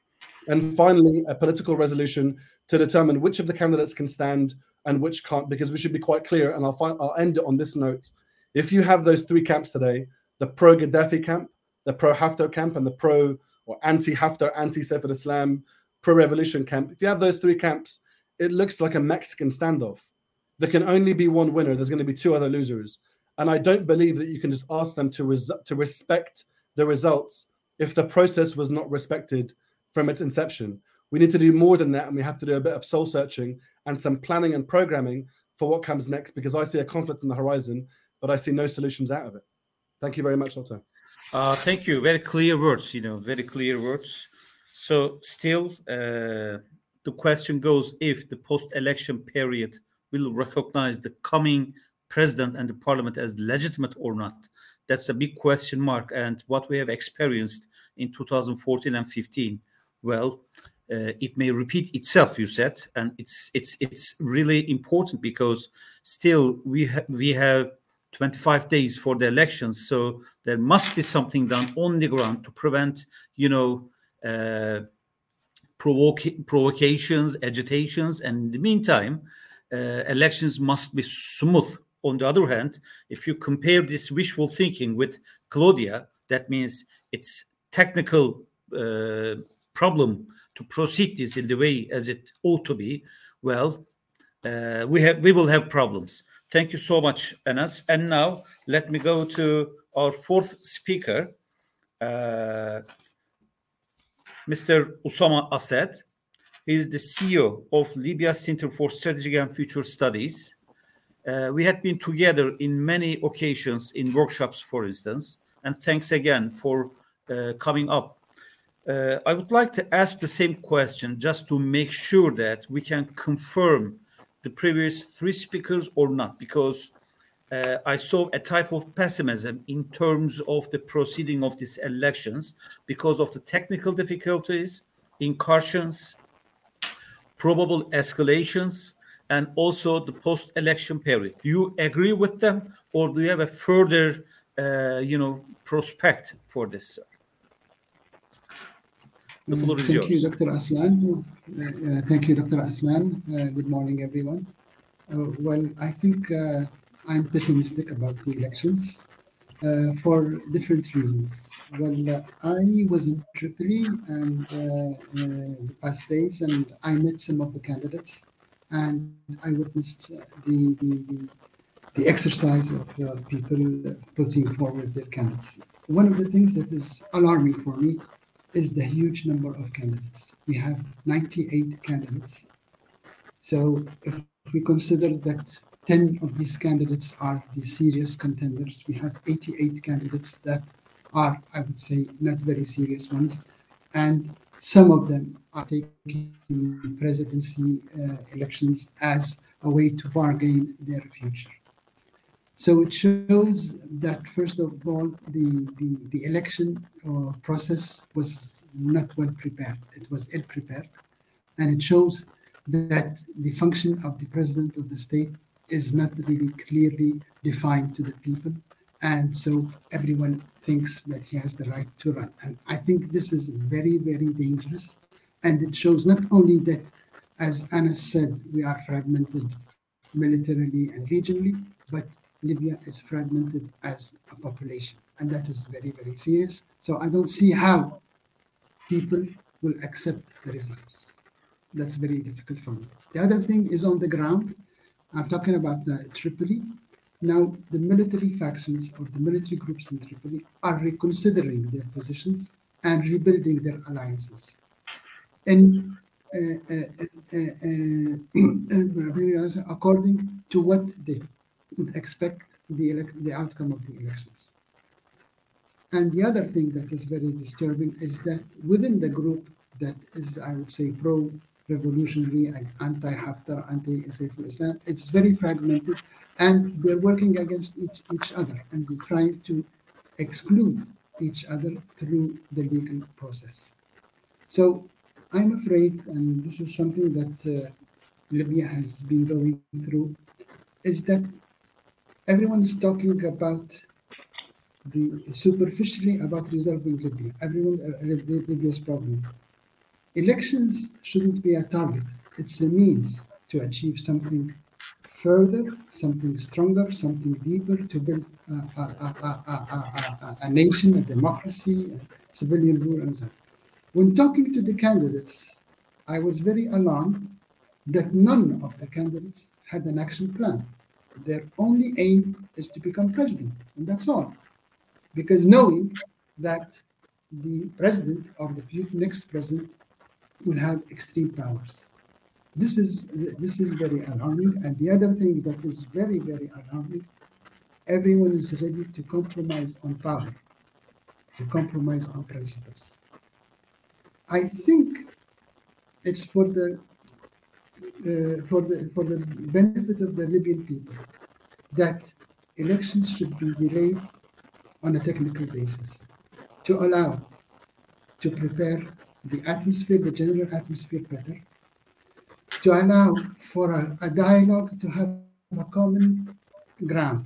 S4: And finally, a political resolution to determine which of the candidates can stand and which can't, because we should be quite clear, and I'll, find, I'll end it on this note. If you have those three camps today, the pro-Gaddafi camp, the pro-Haftar camp, and the pro- or anti-Haftar, anti-Saif al-Islam, pro-revolution camp, if you have those three camps, it looks like a Mexican standoff. There can only be one winner. There's going to be two other losers. And I don't believe that you can just ask them to, res- to respect the results if the process was not respected from its inception. We need to do more than that, and we have to do a bit of soul searching and some planning and programming for what comes next, because I see a conflict on the horizon, but I see no solutions out of it. Thank you very much, Doctor.
S1: Uh, thank you. Very clear words, you know, very clear words. So still, uh, the question goes if the post-election period will recognize the coming president and the parliament as legitimate or not. That's a big question mark. And what we have experienced in two thousand fourteen and fifteen, well, uh, it may repeat itself, you said, and it's it's it's really important because still we ha- we have twenty-five days for the elections, so there must be something done on the ground to prevent, you know, uh, provoc- provocations, agitations, and in the meantime, uh, elections must be smooth. On the other hand, if you compare this wishful thinking with Claudia, that means it's technical uh, problem to proceed this in the way as it ought to be. Well, uh, we have we will have problems. Thank you so much, Anas. And now let me go to our fourth speaker, uh, Mister Usama Assad. He is the C E O of Libya Center for Strategic and Future Studies. Uh, we had been together in many occasions in workshops, for instance, and thanks again for uh, coming up. Uh, I would like to ask the same question just to make sure that we can confirm the previous three speakers or not, because uh, I saw a type of pessimism in terms of the proceeding of these elections because of the technical difficulties, incursions, probable escalations, and also the post-election period. Do you agree with them, or do you have a further, uh, you know, prospect for this? The floor is
S5: Thank
S1: yours.
S5: you, Doctor Aslan. Uh, uh, thank you, Doctor Aslan. Uh, good morning, everyone. Uh, well, I think uh, I'm pessimistic about the elections uh, for different reasons. Well, uh, I was in Tripoli and uh, uh, the past days, and I met some of the candidates, and I witnessed uh, the, the, the the exercise of uh, people putting forward their candidacy. One of the things that is alarming for me is the huge number of candidates. We have ninety-eight candidates. So if we consider that ten of these candidates are the serious contenders, we have eighty-eight candidates that are, I would say, not very serious ones. And some of them are taking presidency uh, elections as a way to bargain their future. So it shows that, first of all, the, the, the election uh, process was not well prepared. It was ill prepared. And it shows that the function of the president of the state is not really clearly defined to the people. And so everyone thinks that he has the right to run. And I think this is very, very dangerous. And it shows not only that, as Anas said, we are fragmented militarily and regionally, but Libya is fragmented as a population, and that is very, very serious. So I don't see how people will accept the results. That's very difficult for me. The other thing is on the ground. I'm talking about uh, Tripoli. Now, the military factions or the military groups in Tripoli are reconsidering their positions and rebuilding their alliances. And uh, uh, uh, uh, according to what they would expect the, elect the outcome of the elections. And the other thing that is very disturbing is that within the group that is, I would say, pro-revolutionary and anti-Haftar, anti-Saif al-Islam, it's very fragmented, and they're working against each, each other, and they're trying to exclude each other through the legal process. So I'm afraid, and this is something that uh, Libya has been going through, is that everyone is talking about the superficially about resolving Libya, everyone uh, Libya's problem. Elections shouldn't be a target. It's a means to achieve something further, something stronger, something deeper, to build a, a, a, a, a, a nation, a democracy, a civilian rule, and so on. When talking to the candidates, I was very alarmed that none of the candidates had an action plan. Their only aim is to become president, and that's all. Because knowing that the president or the next president will have extreme powers. This is, this is very alarming. And the other thing that is very, very alarming, everyone is ready to compromise on power, to compromise on principles. I think it's for the Uh, for the for the benefit of the Libyan people that elections should be delayed on a technical basis to allow to prepare the atmosphere, the general atmosphere better, to allow for a, a dialogue to have a common ground.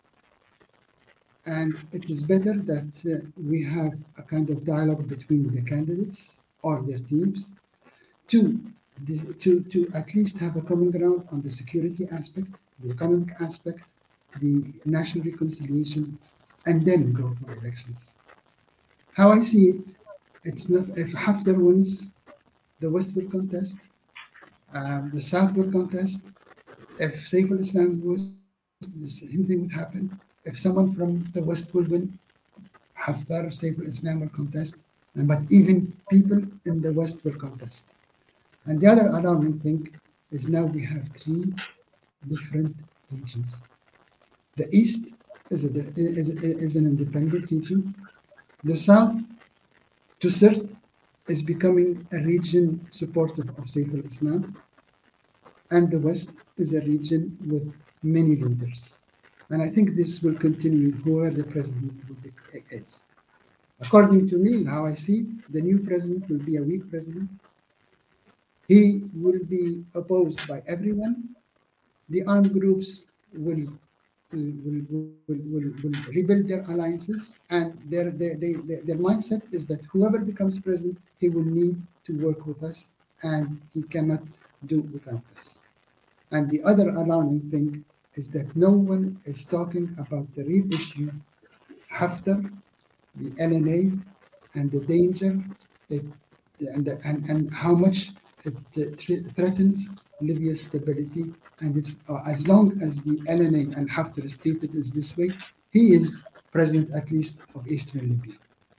S5: And it is better that uh, we have a kind of dialogue between the candidates or their teams to The, to, to at least have a common ground on the security aspect, the economic aspect, the national reconciliation, and then go for elections. How I see it, it's not if Haftar wins, the West will contest, um, the South will contest. If Saif al-Islam wins, the same thing would happen. If someone from the West will win, Haftar, Saif al-Islam will contest, and, but even people in the West will contest. And the other alarming thing is now we have three different regions. The East is, a, is, is an independent region. The South, to Sirte, is becoming a region supportive of Saif al-Islam. And the West is a region with many leaders. And I think this will continue whoever the president will be, is. According to me, how I see it, the new president will be a weak president. He will be opposed by everyone. The armed groups will will, will, will, will rebuild their alliances, and their, their, their, their mindset is that whoever becomes president, he will need to work with us, and he cannot do without us. And the other alarming thing is that no one is talking about the real issue, Haftar, the L N A, and the danger it, and, and, and how much it uh, threatens Libya's stability. And it's uh, as long as the L N A and Haftar is treated as this way, he is president at least of Eastern Libya.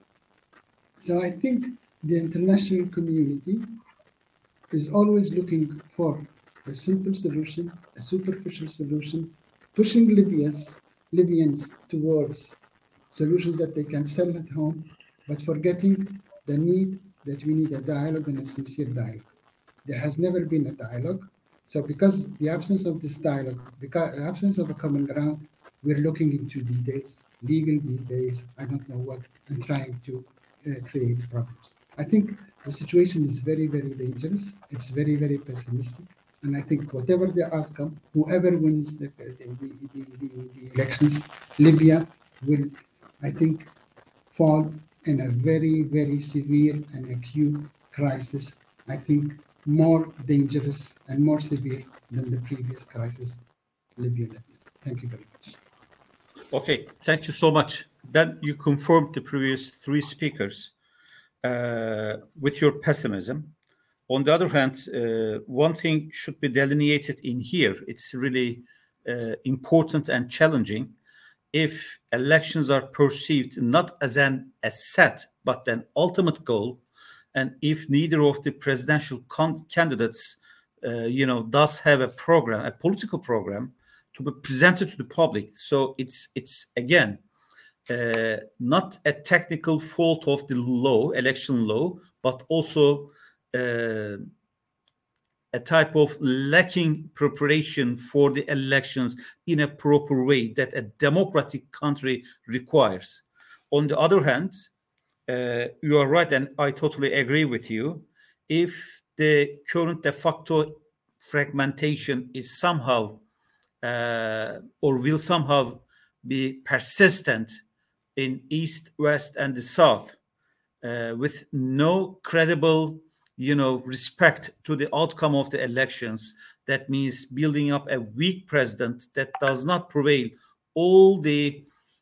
S5: So I think the international community is always looking for a simple solution, a superficial solution, pushing Libya's, Libyans towards solutions that they can sell at home, but forgetting the need that we need a dialogue and a sincere dialogue. There has never been a dialogue. So because the absence of this dialogue, because the absence of a common ground, we're looking into details, legal details, I don't know what, and trying to uh, create problems. I think the situation is very, very dangerous. It's very, very pessimistic. And I think whatever the outcome, whoever wins the, the, the, the, the, the elections, Libya will, I think, fall in a very, very severe and acute crisis. I think more dangerous and more severe than the previous crisis Libya lived in. Thank you very much.
S1: Okay, thank you so much. Then you confirmed the previous three speakers uh, with your pessimism. On the other hand, uh, one thing should be delineated in here. It's really uh, important and challenging. If elections are perceived not as an asset, but an ultimate goal, and if neither of the presidential con- candidates, uh, you know, does have a program, a political program to be presented to the public, so it's it's again uh, not a technical fault of the law, election law, but also uh, a type of lacking preparation for the elections in a proper way that a democratic country requires. On the other hand, Uh, you are right, and I totally agree with you. If the current de facto fragmentation is somehow uh, or will somehow be persistent in East, West, and the South, uh, with no credible, you know, respect to the outcome of the elections, that means building up a weak president that does not prevail all the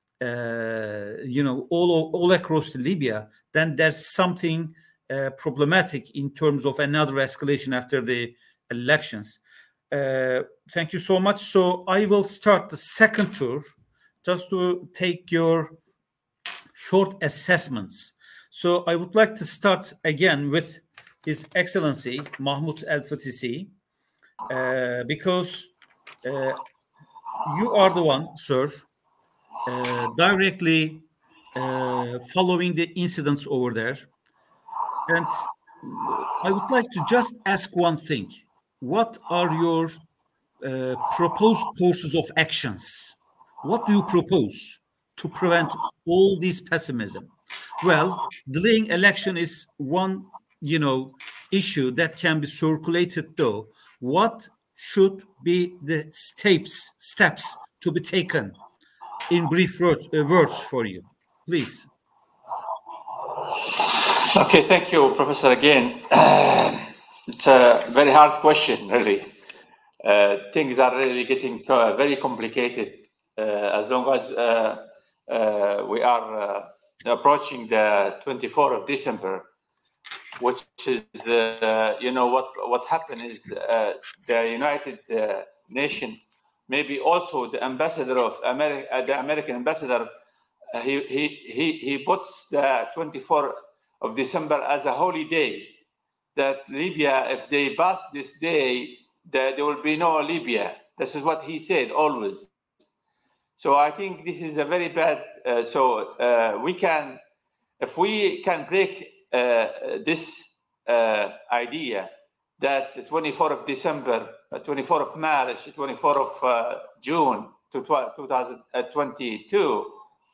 S1: Uh, you know, all all across Libya, then there's something uh, problematic in terms of another escalation after the elections. Uh, thank you so much. So I will start the second tour just to take your short assessments. So I would like to start again with His Excellency Mahmoud El-Fatisi, uh, because uh, you are the one, sir, Uh, directly uh, following the incidents over there. And I would like to just ask one thing. What are your uh, proposed courses of actions? What do you propose to prevent all this pessimism? Well, delaying election is one, you know, issue that can be circulated though. What should be the steps, steps to be taken? In brief word, uh, words for you, please.
S2: Okay, thank you, Professor, again. Uh, it's a very hard question, really. Uh, things are really getting uh, very complicated uh, as long as uh, uh, we are uh, approaching the twenty-fourth of December, which is, uh, you know, what, what happened is uh, the United uh, Nations, maybe also the ambassador of America, uh, the American ambassador, uh, he, he, he, he puts the twenty-fourth of December as a holy day, that Libya, if they pass this day, that there will be no Libya. This is what he said always. So I think this is a very bad, uh, so uh, we can, if we can break uh, this uh, idea that the twenty-fourth of December, uh, twenty-fourth of March, twenty-fourth of uh, June, to two thousand twenty-two,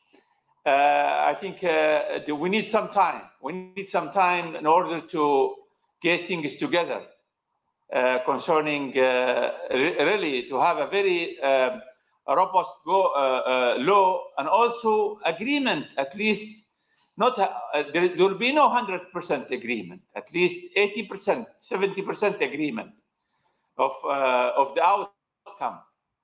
S2: uh, I think uh, we need some time. We need some time in order to get things together uh, concerning uh, really to have a very uh, robust go, uh, uh, law and also agreement, at least not uh, there, there will be no one hundred percent agreement, at least eighty percent, seventy percent agreement of, uh, of the outcome.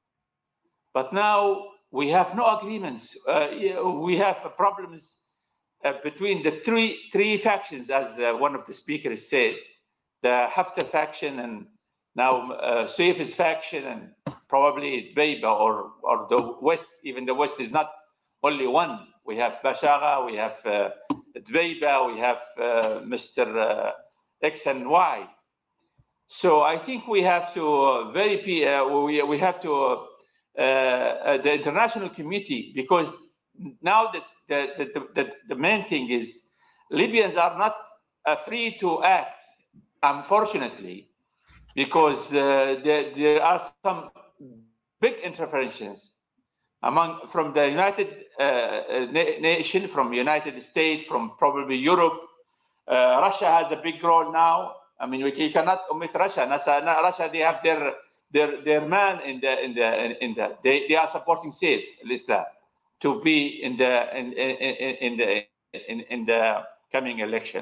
S2: But now we have no agreements. Uh, we have problems uh, between the three three factions, as uh, one of the speakers said, the Haftar faction and now uh, Saif's faction and probably Dbeiba or, or the West. Even the West is not only one. We have Bashagha, we have uh, Dbeiba, we have uh, Mister Uh, X and Y. So I think we have to uh, very uh, we we have to uh, uh, the international community, because now the the, the the the main thing is Libyans are not uh, free to act, unfortunately, because uh, there there are some big interferences among from the United uh, na nation, from United States, from probably Europe. Uh, Russia has a big role now. I mean, we, you cannot omit Russia. NASA, Russia, they have their their their man in the in the in the they, they are supporting Saif al-Islam to be in the in in, in the in, in the coming election.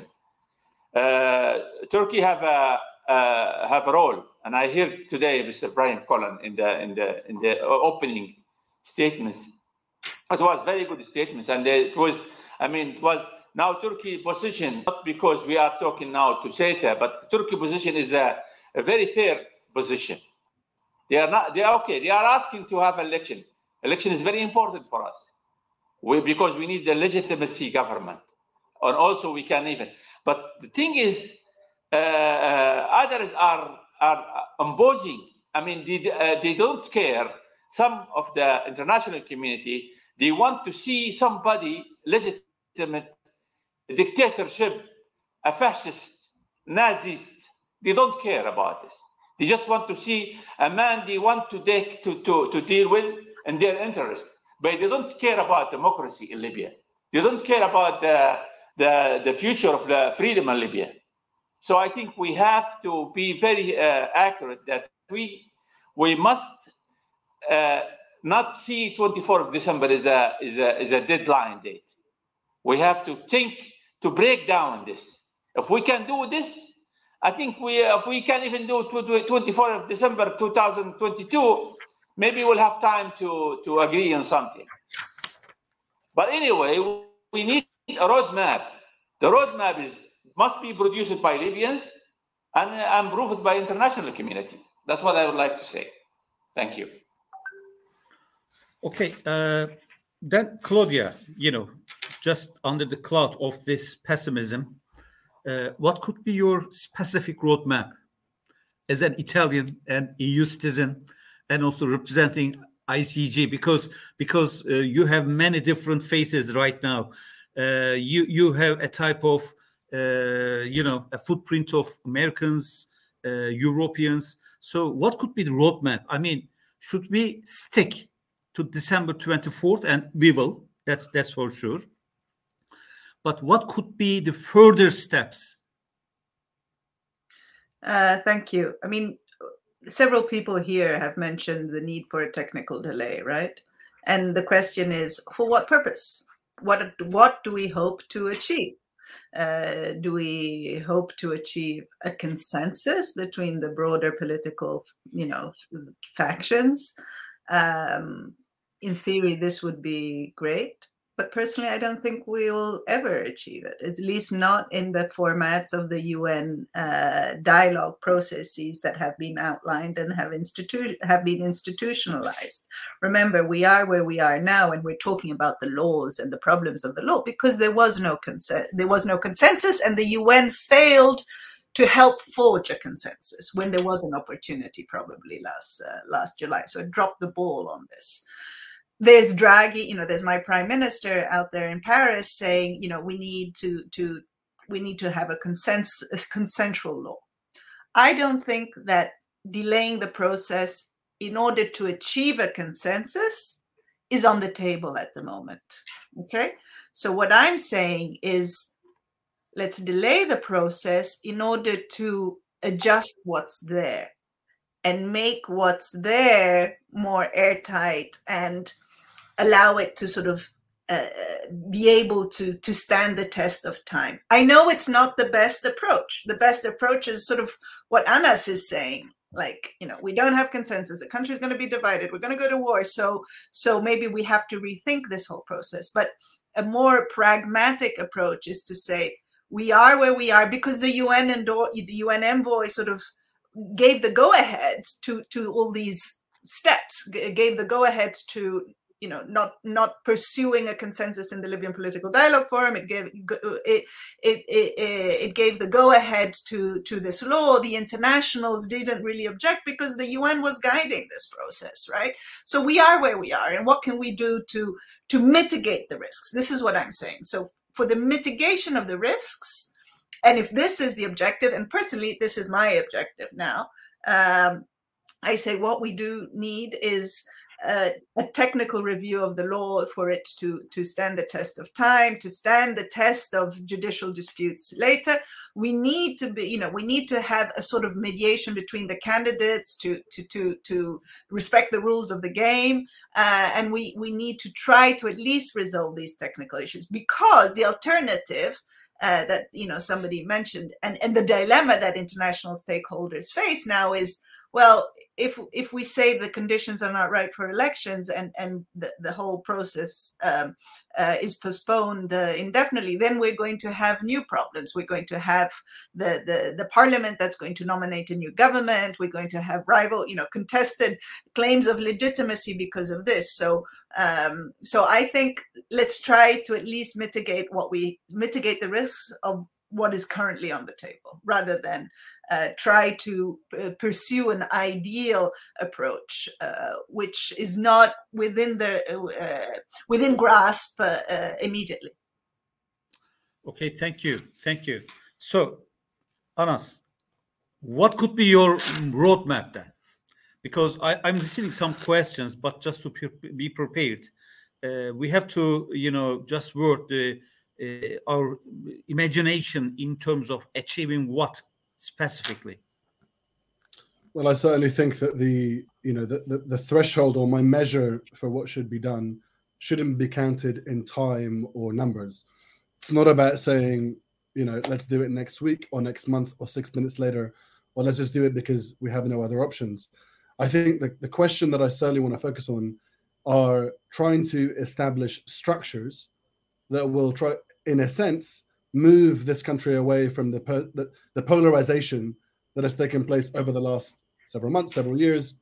S2: Uh, Turkey have a uh, have a role, and I heard today Mister Brian Cullen in the in the in the opening statements. It was very good statements, and it was, I mean, it was. Now Turkey position, not because we are talking now to SETA, but Turkey position is a, a very fair position. They are not, they are okay. They are asking to have election. Election is very important for us. We, because we need the legitimacy government. And also we can even, but the thing is, uh, uh, others are, are imposing. I mean, they, uh, they don't care. Some of the international community, they want to see somebody legitimate dictatorship, a fascist, Nazist. They don't care about this. They just want to see a man they want to take to, to, to deal with in their interest. But they don't care about democracy in Libya. They don't care about the, the, the future of the freedom in Libya. So I think we have to be very uh, accurate that we we must uh, not see twenty-fourth of December as a, as a, as a deadline date. We have to think to break down this. If we can do this, I think we, if we can even do twenty-fourth of December two thousand twenty-two, maybe we'll have time to, to agree on something. But anyway, we need a roadmap. The roadmap is must be produced by Libyans and uh, approved by international community. That's what I would like to say. Thank you.
S1: Okay, uh, then Claudia, you know, just under the cloud of this pessimism, uh, what could be your specific roadmap as an Italian and E U citizen, and also representing I C G? Because because uh, you have many different faces right now. Uh, you you have a type of uh, you know a footprint of Americans, uh, Europeans. So what could be the roadmap? I mean, should we stick to December twenty-fourth? And we will. That's that's for sure. But what could be the further steps?
S3: Uh, thank you. I mean, several people here have mentioned the need for a technical delay, right? And the question is, for what purpose? What, what do we hope to achieve? Uh, do we hope to achieve a consensus between the broader political, you know, factions? Um, in theory, this would be great. But personally, I don't think we'll ever achieve it, at least not in the formats of the U N uh, dialogue processes that have been outlined and have, institu have been institutionalized. Remember, we are where we are now, and we're talking about the laws and the problems of the law because there was no consen there was no consensus, and the U N failed to help forge a consensus when there was an opportunity, probably last uh, last July. So it dropped the ball on this. There's Draghi, you know, there's my prime minister out there in Paris saying, you know, we need to to we need to have a consensus, a consensual law. I don't think that delaying the process in order to achieve a consensus is on the table at the moment. Okay, so what I'm saying is, let's delay the process in order to adjust what's there and make what's there more airtight and allow it to sort of uh, be able to, to stand the test of time. I know it's not the best approach. The best approach is sort of what Anas is saying. Like, you know, we don't have consensus. The country is going to be divided. We're going to go to war. So, so maybe we have to rethink this whole process. But a more pragmatic approach is to say, we are where we are because the U N and the U N envoy sort of gave the go-ahead to, to all these steps, gave the go-ahead to, you know, not not pursuing a consensus in the Libyan Political Dialogue Forum. It gave it it it, it gave the go-ahead to to this law. The internationals didn't really object because the U N was guiding this process, right? So we are where we are, and what can we do to to mitigate the risks? This is what I'm saying. So for the mitigation of the risks, and if this is the objective, and personally this is my objective now, um, I say what we do need is Uh, a technical review of the law for it to, to stand the test of time, to stand the test of judicial disputes later. We need to be, you know, we need to have a sort of mediation between the candidates to to to, to respect the rules of the game, uh, and we we need to try to at least resolve these technical issues, because the alternative uh, that, you know, somebody mentioned, and and the dilemma that international stakeholders face now is, well, if if we say the conditions are not right for elections and, and the, the whole process um, uh, is postponed uh, indefinitely, then we're going to have new problems. We're going to have the, the, the parliament that's going to nominate a new government. We're going to have rival, you know, contested claims of legitimacy because of this. So um, so I think let's try to at least mitigate what we mitigate the risks of what is currently on the table, rather than uh, try to uh, pursue an ideal approach, uh, which is not within the uh, within grasp uh, uh, immediately.
S1: Okay, thank you, thank you. So, Anas, what could be your roadmap then? Because I, I'm receiving some questions, but just to be prepared, uh, we have to, you know, just work the uh, our imagination in terms of achieving what specifically.
S4: Well, I certainly think that the you know the, the the threshold, or my measure for what should be done, shouldn't be counted in time or numbers. It's not about saying, you know, let's do it next week or next month or six minutes later, or let's just do it because we have no other options. I think the, the question that I certainly want to focus on are trying to establish structures that will try, in a sense, move this country away from the the, the polarization that has taken place over the last several months, several years.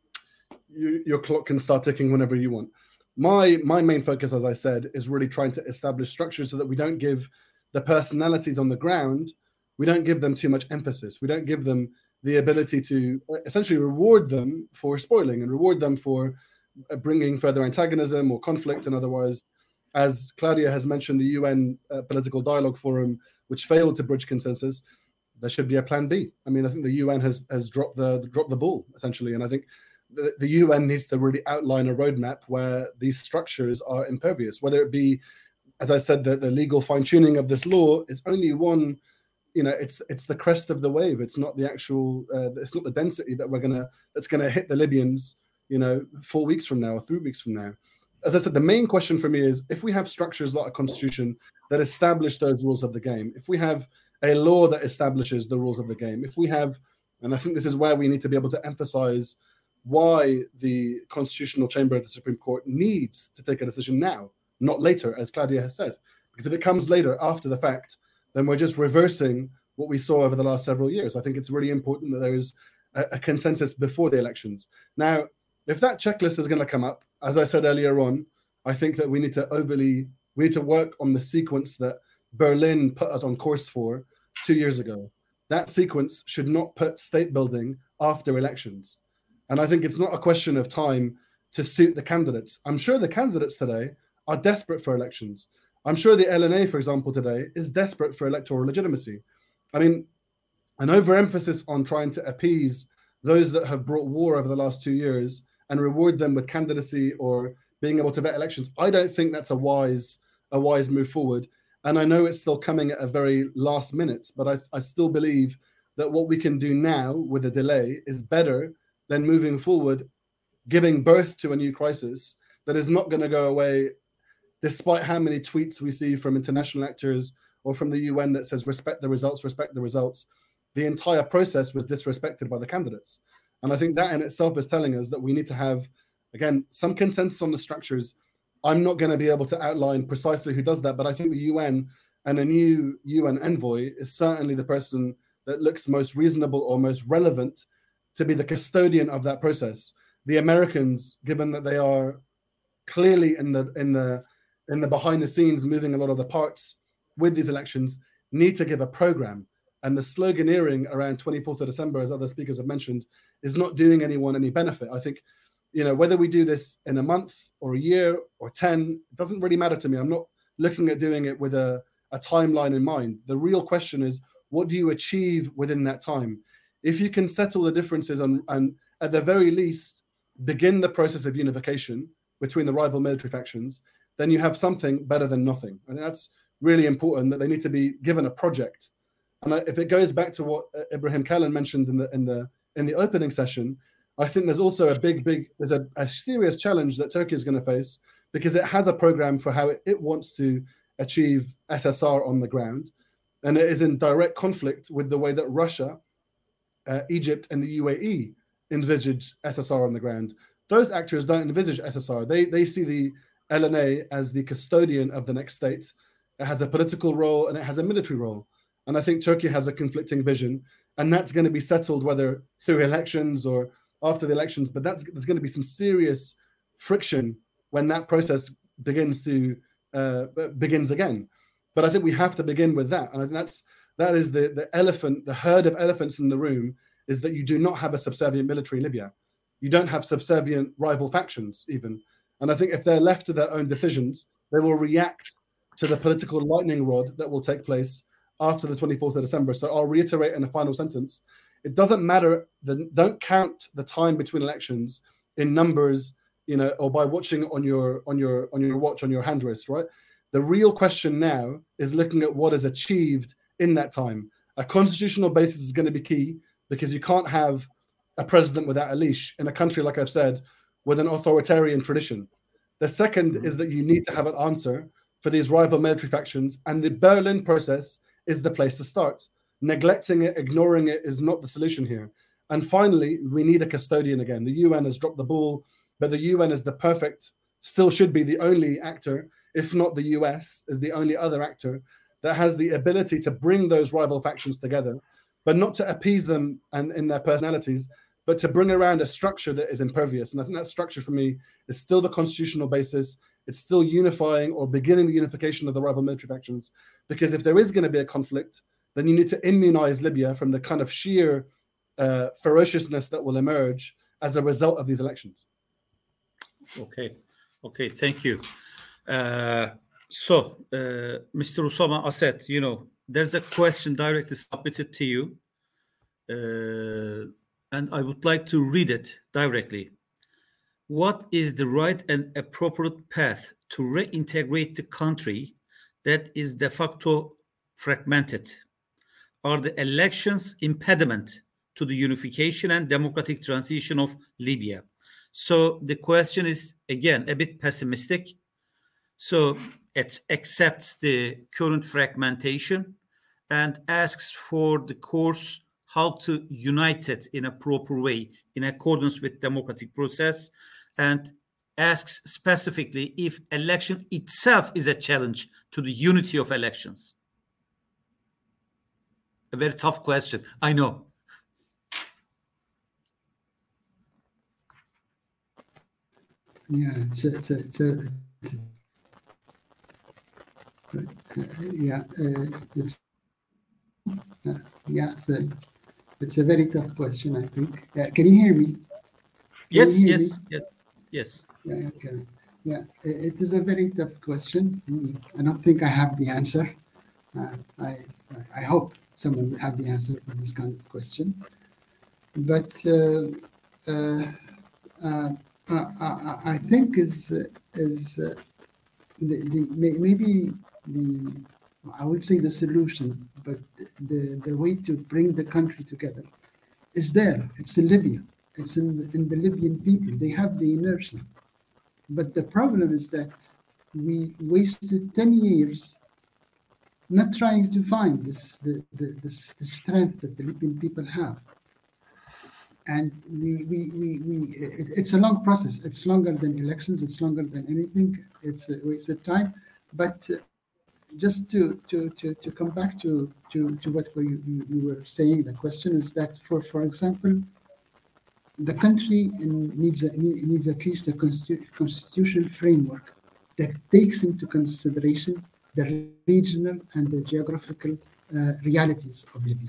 S4: You, your clock can start ticking whenever you want. My my main focus, as I said, is really trying to establish structures so that we don't give the personalities on the ground, we don't give them too much emphasis. We don't give them the ability to essentially reward them for spoiling and reward them for bringing further antagonism or conflict. And otherwise, as Claudia has mentioned, the U N uh, Political Dialogue Forum, which failed to bridge consensus, there should be a plan B. I mean, I think the U N has has dropped the dropped the ball, essentially. And I think the, the U N needs to really outline a roadmap where these structures are impervious, whether it be, as I said, the, the legal fine-tuning of this law is only one, you know, it's it's the crest of the wave. It's not the actual, uh, it's not the density that we're gonna, that's gonna hit the Libyans, you know, four weeks from now or three weeks from now. As I said, the main question for me is, if we have structures like a constitution that establish those rules of the game, if we have a law that establishes the rules of the game, if we have, and I think this is where we need to be able to emphasize why the constitutional chamber of the Supreme Court needs to take a decision now, not later, as Claudia has said. Because if it comes later, after the fact, then we're just reversing what we saw over the last several years. I think it's really important that there is a, a consensus before the elections. Now, if that checklist is going to come up, as I said earlier on, I think that we need to overly, we need to work on the sequence that Berlin put us on course for two years ago. That sequence should not put state building after elections. And I think it's not a question of time to suit the candidates. I'm sure the candidates today are desperate for elections. I'm sure the L N A, for example, today is desperate for electoral legitimacy. I mean, an overemphasis on trying to appease those that have brought war over the last two years and reward them with candidacy or being able to vet elections. I don't think that's a wise a wise move forward. And I know it's still coming at a very last minute, but I, I still believe that what we can do now with a delay is better than moving forward, giving birth to a new crisis that is not going to go away, despite how many tweets we see from international actors or from the U N that says respect the results, respect the results. The entire process was disrespected by the candidates. And I think that in itself is telling us that we need to have, again, some consensus on the structures. I'm not going to be able to outline precisely who does that, but I think the U N and a new U N envoy is certainly the person that looks most reasonable or most relevant to be the custodian of that process. The Americans, given that they are clearly in the in the in the behind the scenes moving a lot of the parts with these elections, need to give a program. And the sloganeering around twenty-fourth of December, as other speakers have mentioned, is not doing anyone any benefit. I think, you know, whether we do this in a month or a year or ten, it doesn't really matter to me. I'm not looking at doing it with a, a timeline in mind. The real question is, what do you achieve within that time? If you can settle the differences and, and at the very least, begin the process of unification between the rival military factions, then you have something better than nothing. And that's really important, that they need to be given a project. And if it goes back to what Ibrahim Kalin mentioned in the in the in the opening session, I think there's also a big, big, there's a, a serious challenge that Turkey is going to face, because it has a program for how it, it wants to achieve S S R on the ground. And it is in direct conflict with the way that Russia, uh, Egypt, and the U A E envisage S S R on the ground. Those actors don't envisage S S R. They, they see the L N A as the custodian of the next state. It has a political role and it has a military role. And I think Turkey has a conflicting vision, and that's going to be settled whether through elections or after the elections. But that's there's going to be some serious friction when that process begins to uh, begins again. But I think we have to begin with that, and I think that's that is the the elephant, the herd of elephants in the room, is that you do not have a subservient military in Libya. You don't have subservient rival factions even. And I think if they're left to their own decisions, they will react to the political lightning rod that will take place after the twenty-fourth of December. So I'll reiterate in a final sentence. It doesn't matter, the, don't count the time between elections in numbers, you know, or by watching on your on your on your watch, on your hand wrist, right? The real question now is looking at what is achieved in that time. A constitutional basis is going to be key, because you can't have a president without a leash in a country, like I've said, with an authoritarian tradition. The second mm-hmm. is that you need to have an answer for these rival military factions, and the Berlin process is the place to start. Neglecting it, ignoring it is not the solution here. And finally, we need a custodian again. The U N has dropped the ball, but the U N is the perfect, still should be the only actor, if not the U S, is the only other actor that has the ability to bring those rival factions together, but not to appease them and in their personalities, but to bring around a structure that is impervious. And I think that structure for me is still the constitutional basis. It's still unifying or beginning the unification of the rival military factions. Because if there is going to be a conflict, then you need to immunize Libya from the kind of sheer uh, ferociousness that will emerge as a result of these elections.
S1: Okay, okay, thank you. Uh, so, uh, Mister Usama Asset, you know, there's a question directly submitted to you, uh, and I would like to read it directly. What is the right and appropriate path to reintegrate the country that is de facto fragmented? Are the elections impediment to the unification and democratic transition of Libya? So the question is, again, a bit pessimistic. So it accepts the current fragmentation and asks for the course how to unite it in a proper way in accordance with democratic process, and asks specifically if election itself is a challenge to the unity of elections. A very tough question, I know.
S5: Yeah, it's a, it's a, it's a, it's a uh, yeah, uh, it's uh, yeah, it's a, it's a very tough question, I think. Uh, can you hear me? Can
S1: yes,
S5: hear
S1: yes,
S5: me?
S1: yes, yes.
S5: Yeah, okay. Yeah, it is a very tough question. I don't think I have the answer. Uh, I I hope someone will have the answer for this kind of question. but uh, uh, uh, I, I think is is uh, the, the maybe the I would say the solution, but the the way to bring the country together is there. It's in Libya. It's in in the Libyan people. They have the inertia, but the problem is that we wasted ten years not trying to find this the the, this, the strength that the Libyan people have. And we, we, we, we it, it's a long process. It's longer than elections. It's longer than anything. It's a wasted time. But uh, just to, to, to, to come back to, to, to what you, you, you were saying, the question is that, for, for example, the country in, needs, a, needs at least a constitu constitutional framework that takes into consideration the regional and the geographical uh, realities of Libya.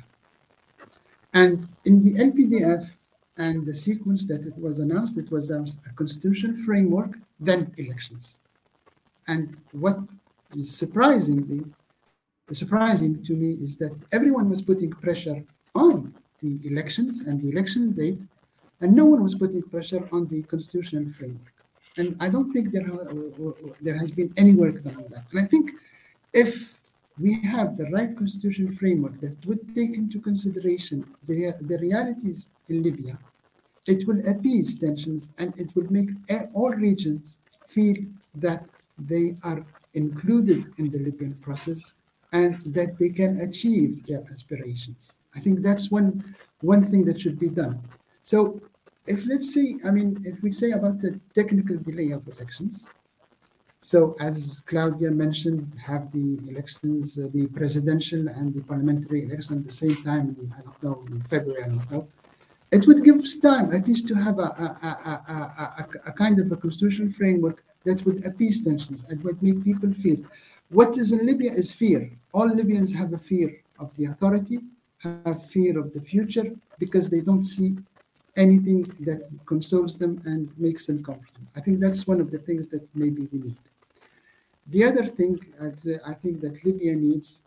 S5: And in the L P D F, and the sequence that it was announced, it was a constitutional framework, then elections. And what is surprisingly, surprising to me is that everyone was putting pressure on the elections and the election date, and no one was putting pressure on the constitutional framework. And I don't think there, there has been any work done on that. And I think if we have the right constitutional framework that would take into consideration the, the realities in Libya, it will appease tensions and it will make all regions feel that they are included in the Libyan process and that they can achieve their aspirations. I think that's one, one thing that should be done. So if let's say, I mean, if we say about the technical delay of elections, so as Claudia mentioned, have the elections, uh, the presidential and the parliamentary election at the same time, in, I don't know, in February, I don't know. It would give us time at least to have a, a, a, a, a kind of a constitutional framework that would appease tensions and would make people feel. What is in Libya is fear. All Libyans have a fear of the authority, have fear of the future, because they don't see anything that consoles them and makes them comfortable. I think that's one of the things that maybe we need. The other thing I think that Libya needs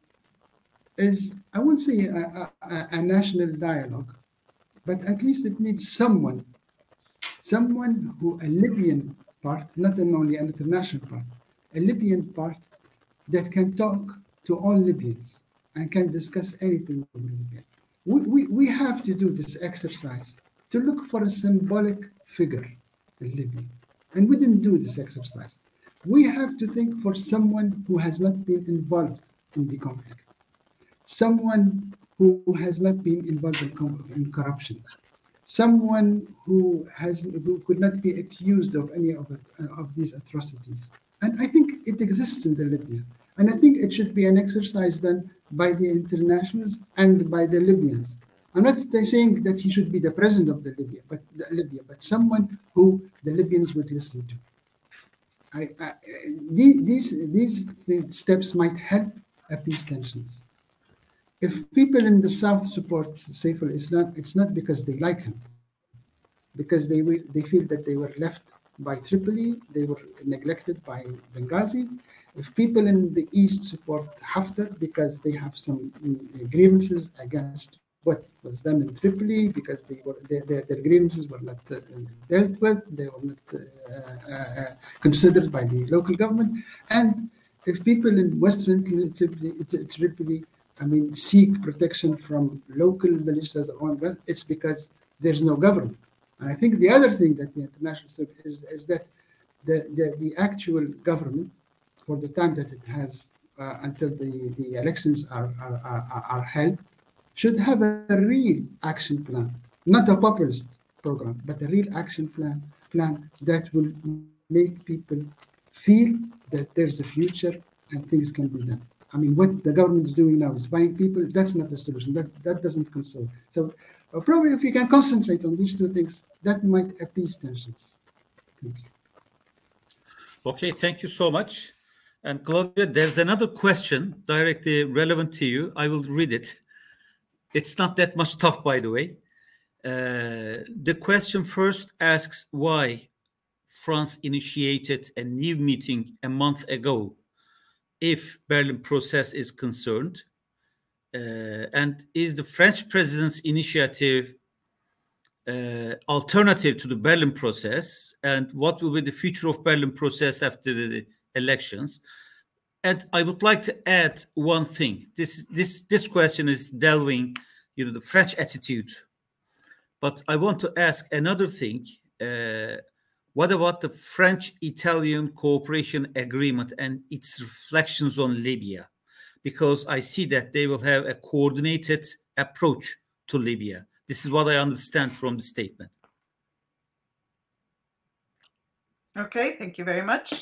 S5: is, I wouldn't say a, a, a national dialogue, but at least it needs someone, someone who, a Libyan part, not only an international part, a Libyan part that can talk to all Libyans and can discuss anything with Libya. We, we, we have to do this exercise to look for a symbolic figure in Libya. And we didn't do this exercise. We have to think for someone who has not been involved in the conflict, someone who has not been involved in, in corruption, someone who has who could not be accused of any of, it, uh, of these atrocities. And I think it exists in the Libya. And I think it should be an exercise done by the internationals and by the Libyans. I'm not saying that he should be the president of the Libya, but the Libya, but someone who the Libyans would listen to. I, I, these these steps might help appease tensions. If people in the south support Saif al-Islam, it's not because they like him, because they will, they feel that they were left by Tripoli, they were neglected by Benghazi. If people in the east support Haftar because they have some grievances against what was done in Tripoli, because they were their, their, their grievances were not uh, dealt with, they were not uh, uh, considered by the local government. And if people in western Tripoli, Tripoli I mean, seek protection from local militias, it's because there's no government. And I think the other thing that the international is, is that the, the, the actual government, for the time that it has uh, until the, the elections are, are, are, are held, should have a, a real action plan, not a populist program, but a real action plan, plan that will make people feel that there's a future and things can be done. I mean, what the government is doing now is buying people. That's not the solution. That that doesn't console. So uh, probably if you can concentrate on these two things, that might appease tensions. Thank you.
S1: Okay, thank you so much. And Claudia, there's another question directly relevant to you. I will read it. It's not that much tough, by the way. Uh, the question first asks why France initiated a new meeting a month ago if Berlin process is concerned, uh, and is the French president's initiative uh, alternative to the Berlin process, and what will be the future of Berlin process after the elections. And I would like to add one thing. This this this question is delving, you know, the French attitude. But I want to ask another thing. Uh, what about the French-Italian cooperation agreement and its reflections on Libya? Because I see that they will have a coordinated approach to Libya. This is what I understand from the statement.
S3: Okay, thank you very much.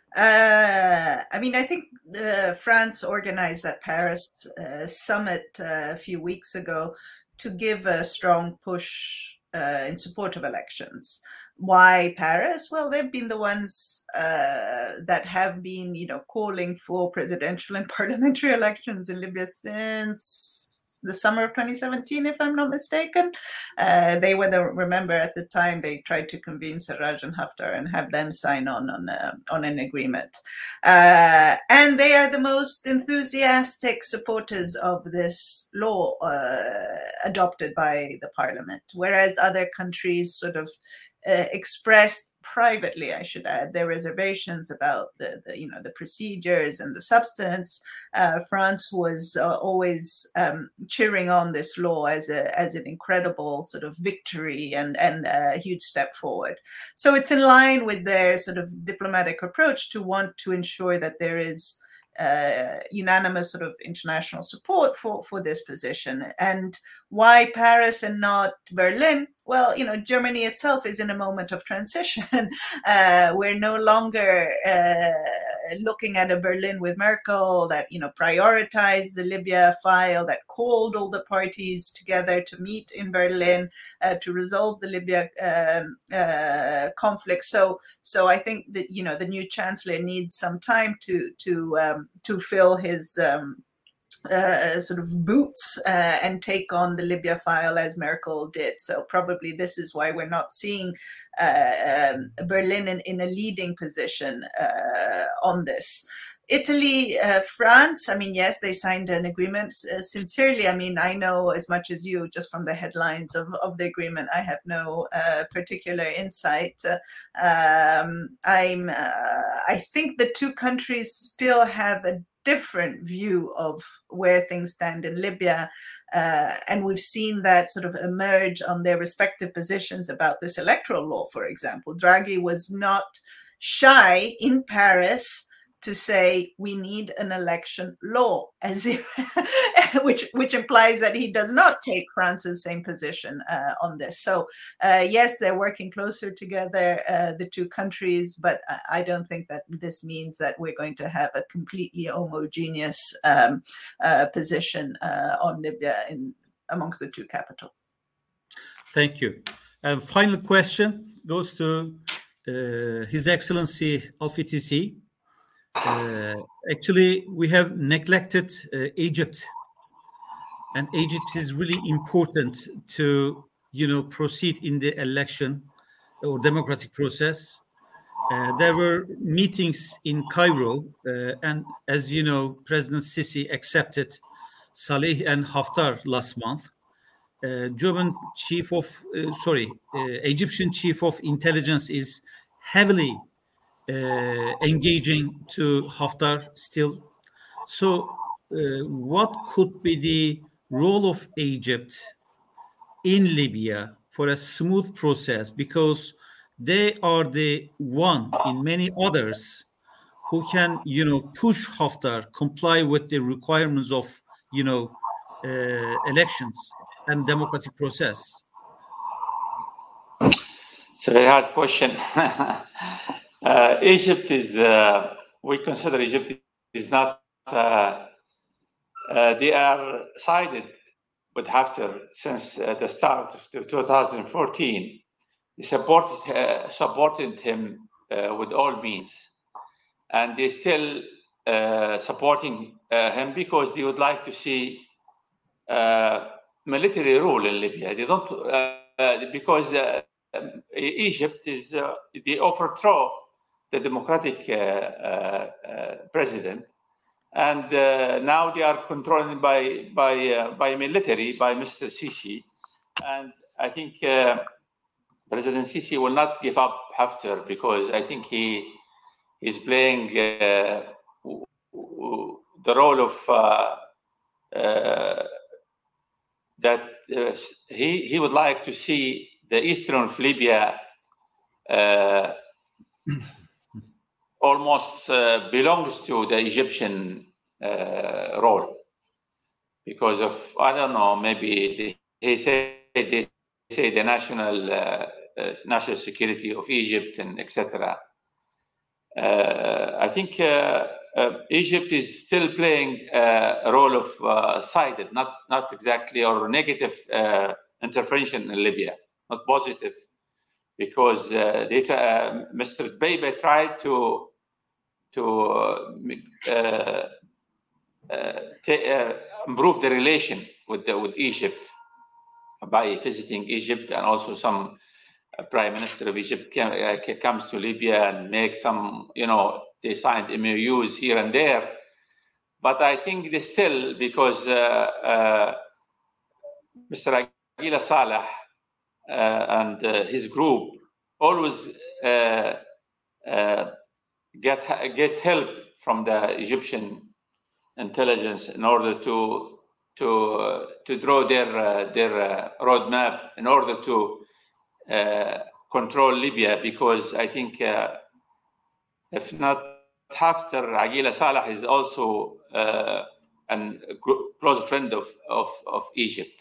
S3: Uh, I mean, I think uh, France organized that Paris uh, summit uh, a few weeks ago to give a strong push uh, in support of elections. Why Paris? Well, they've been the ones uh, that have been, you know, calling for presidential and parliamentary elections in Libya since the summer of twenty seventeen, if I'm not mistaken. Uh, they were the, remember at the time, they tried to convince Sarraj and Haftar and have them sign on on, uh, on an agreement. Uh, and they are the most enthusiastic supporters of this law uh, adopted by the parliament, whereas other countries sort of uh, expressed privately, I should add, their reservations about the, the you know, the procedures and the substance. Uh, France was uh, always um, cheering on this law as a as an incredible sort of victory and and a huge step forward. So it's in line with their sort of diplomatic approach to want to ensure that there is uh, unanimous sort of international support for for this position. And why Paris and not Berlin? Well, you know, Germany itself is in a moment of transition. Uh, we're no longer uh, looking at a Berlin with Merkel that, you know, prioritized the Libya file, that called all the parties together to meet in Berlin uh, to resolve the Libya um, uh, conflict. So, so I think that, you know, the new chancellor needs some time to to um, to fill his um, Uh, sort of boots uh, and take on the Libya file as Merkel did. So probably this is why we're not seeing uh, um, Berlin in, in a leading position uh, on this. Italy, uh, France, I mean, yes, they signed an agreement. Uh, sincerely, I mean, I know as much as you just from the headlines of, of the agreement. I have no uh, particular insight. Uh, um, I'm, uh, I think the two countries still have a different view of where things stand in Libya. Uh, and we've seen that sort of emerge on their respective positions about this electoral law, for example. Draghi was not shy in Paris to say we need an election law, as if, which which implies that he does not take France's same position uh, on this. So uh, yes, they're working closer together, uh, the two countries, but I don't think that this means that we're going to have a completely homogeneous um, uh, position uh, on Libya in amongst the two capitals.
S1: Thank you. And final question goes to uh, His Excellency Al-Fitisi. Uh, actually, we have neglected uh, Egypt, and Egypt is really important to, you know, proceed in the election or democratic process. Uh, there were meetings in Cairo, uh, and as you know, President Sisi accepted Saleh and Haftar last month. Uh, German chief of, uh, sorry, uh, Egyptian chief of intelligence is heavily Uh, engaging to Haftar still. So uh, what could be the role of Egypt in Libya for a smooth process? Because they are the one in many others who can, you know, push Haftar, comply with the requirements of, you know, uh, elections and democratic process.
S2: It's a very hard question. Uh, Egypt is, uh, we consider Egypt is not, uh, uh, they are sided with Haftar since uh, the start of two thousand fourteen. They supported, uh, supported him uh, with all means. And they still uh, supporting uh, him because they would like to see uh, military rule in Libya. They don't, uh, because uh, Egypt is, uh, they overthrow the democratic uh, uh, uh, president, and uh, now they are controlled by by uh, by military, by Mister Sisi, and I think uh, President Sisi will not give up Haftar, because I think he is playing uh, the role of uh, uh, that uh, he he would like to see the eastern of Libya uh, almost uh, belongs to the Egyptian uh, role, because of, I don't know, maybe the, he said they say the national uh, uh, national security of Egypt and et cetera. Uh, I think uh, uh, Egypt is still playing uh, a role of uh, sided, not not exactly, or negative uh, intervention in Libya, not positive, because uh, they, uh, Mister Dbeiba tried to to uh, uh, uh, uh, improve the relation with the, with Egypt by visiting Egypt, and also some uh, Prime Minister of Egypt came, uh, comes to Libya and make some, you know, they signed M O Us here and there. But I think they still, because uh, uh, Mister Aguila Saleh uh, and uh, his group always uh, uh, get get help from the Egyptian intelligence in order to to uh, to draw their uh, their uh, roadmap in order to uh, control Libya, because I think uh, if not Haftar, Aguila Saleh is also uh, a close friend of of, of Egypt.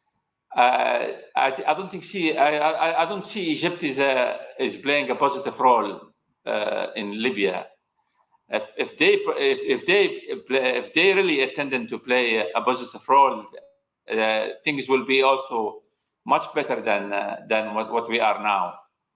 S2: Uh, I, I don't think see I, I I don't see Egypt is a, is playing a positive role uh, in Libya. If, if they if, if they if they really intend to play a positive role, uh, things will be also much better than uh, than what, what we are now.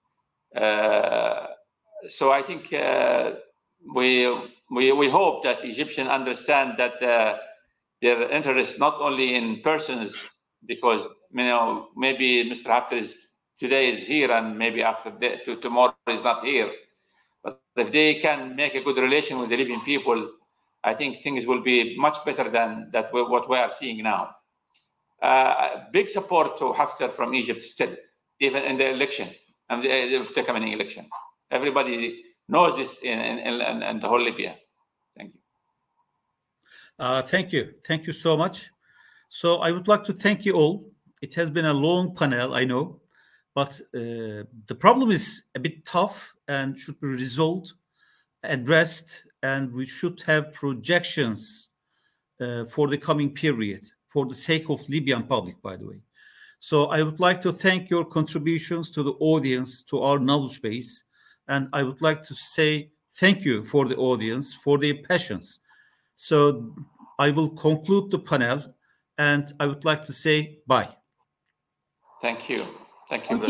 S2: Uh, so I think uh, we we we hope that Egyptians understand that uh, their interest not only in persons, because you know maybe Mister Haftar is today is here and maybe after the, to, tomorrow is not here. But if they can make a good relation with the Libyan people, I think things will be much better than that we, what we are seeing now. Uh, big support to Haftar from Egypt still, even in the election and the, the coming election. Everybody knows this in, in, in, in the whole Libya. Thank you.
S1: Uh, thank you. Thank you so much. So I would like to thank you all. It has been a long panel, I know, but uh, the problem is a bit tough and should be resolved, addressed, and we should have projections uh, for the coming period, for the sake of Libyan public, by the way. So I would like to thank your contributions to the audience, to our knowledge base, and I would like to say thank you for the audience, for their patience. So I will conclude the panel, and I would like to say bye.
S2: Thank you. Thank you.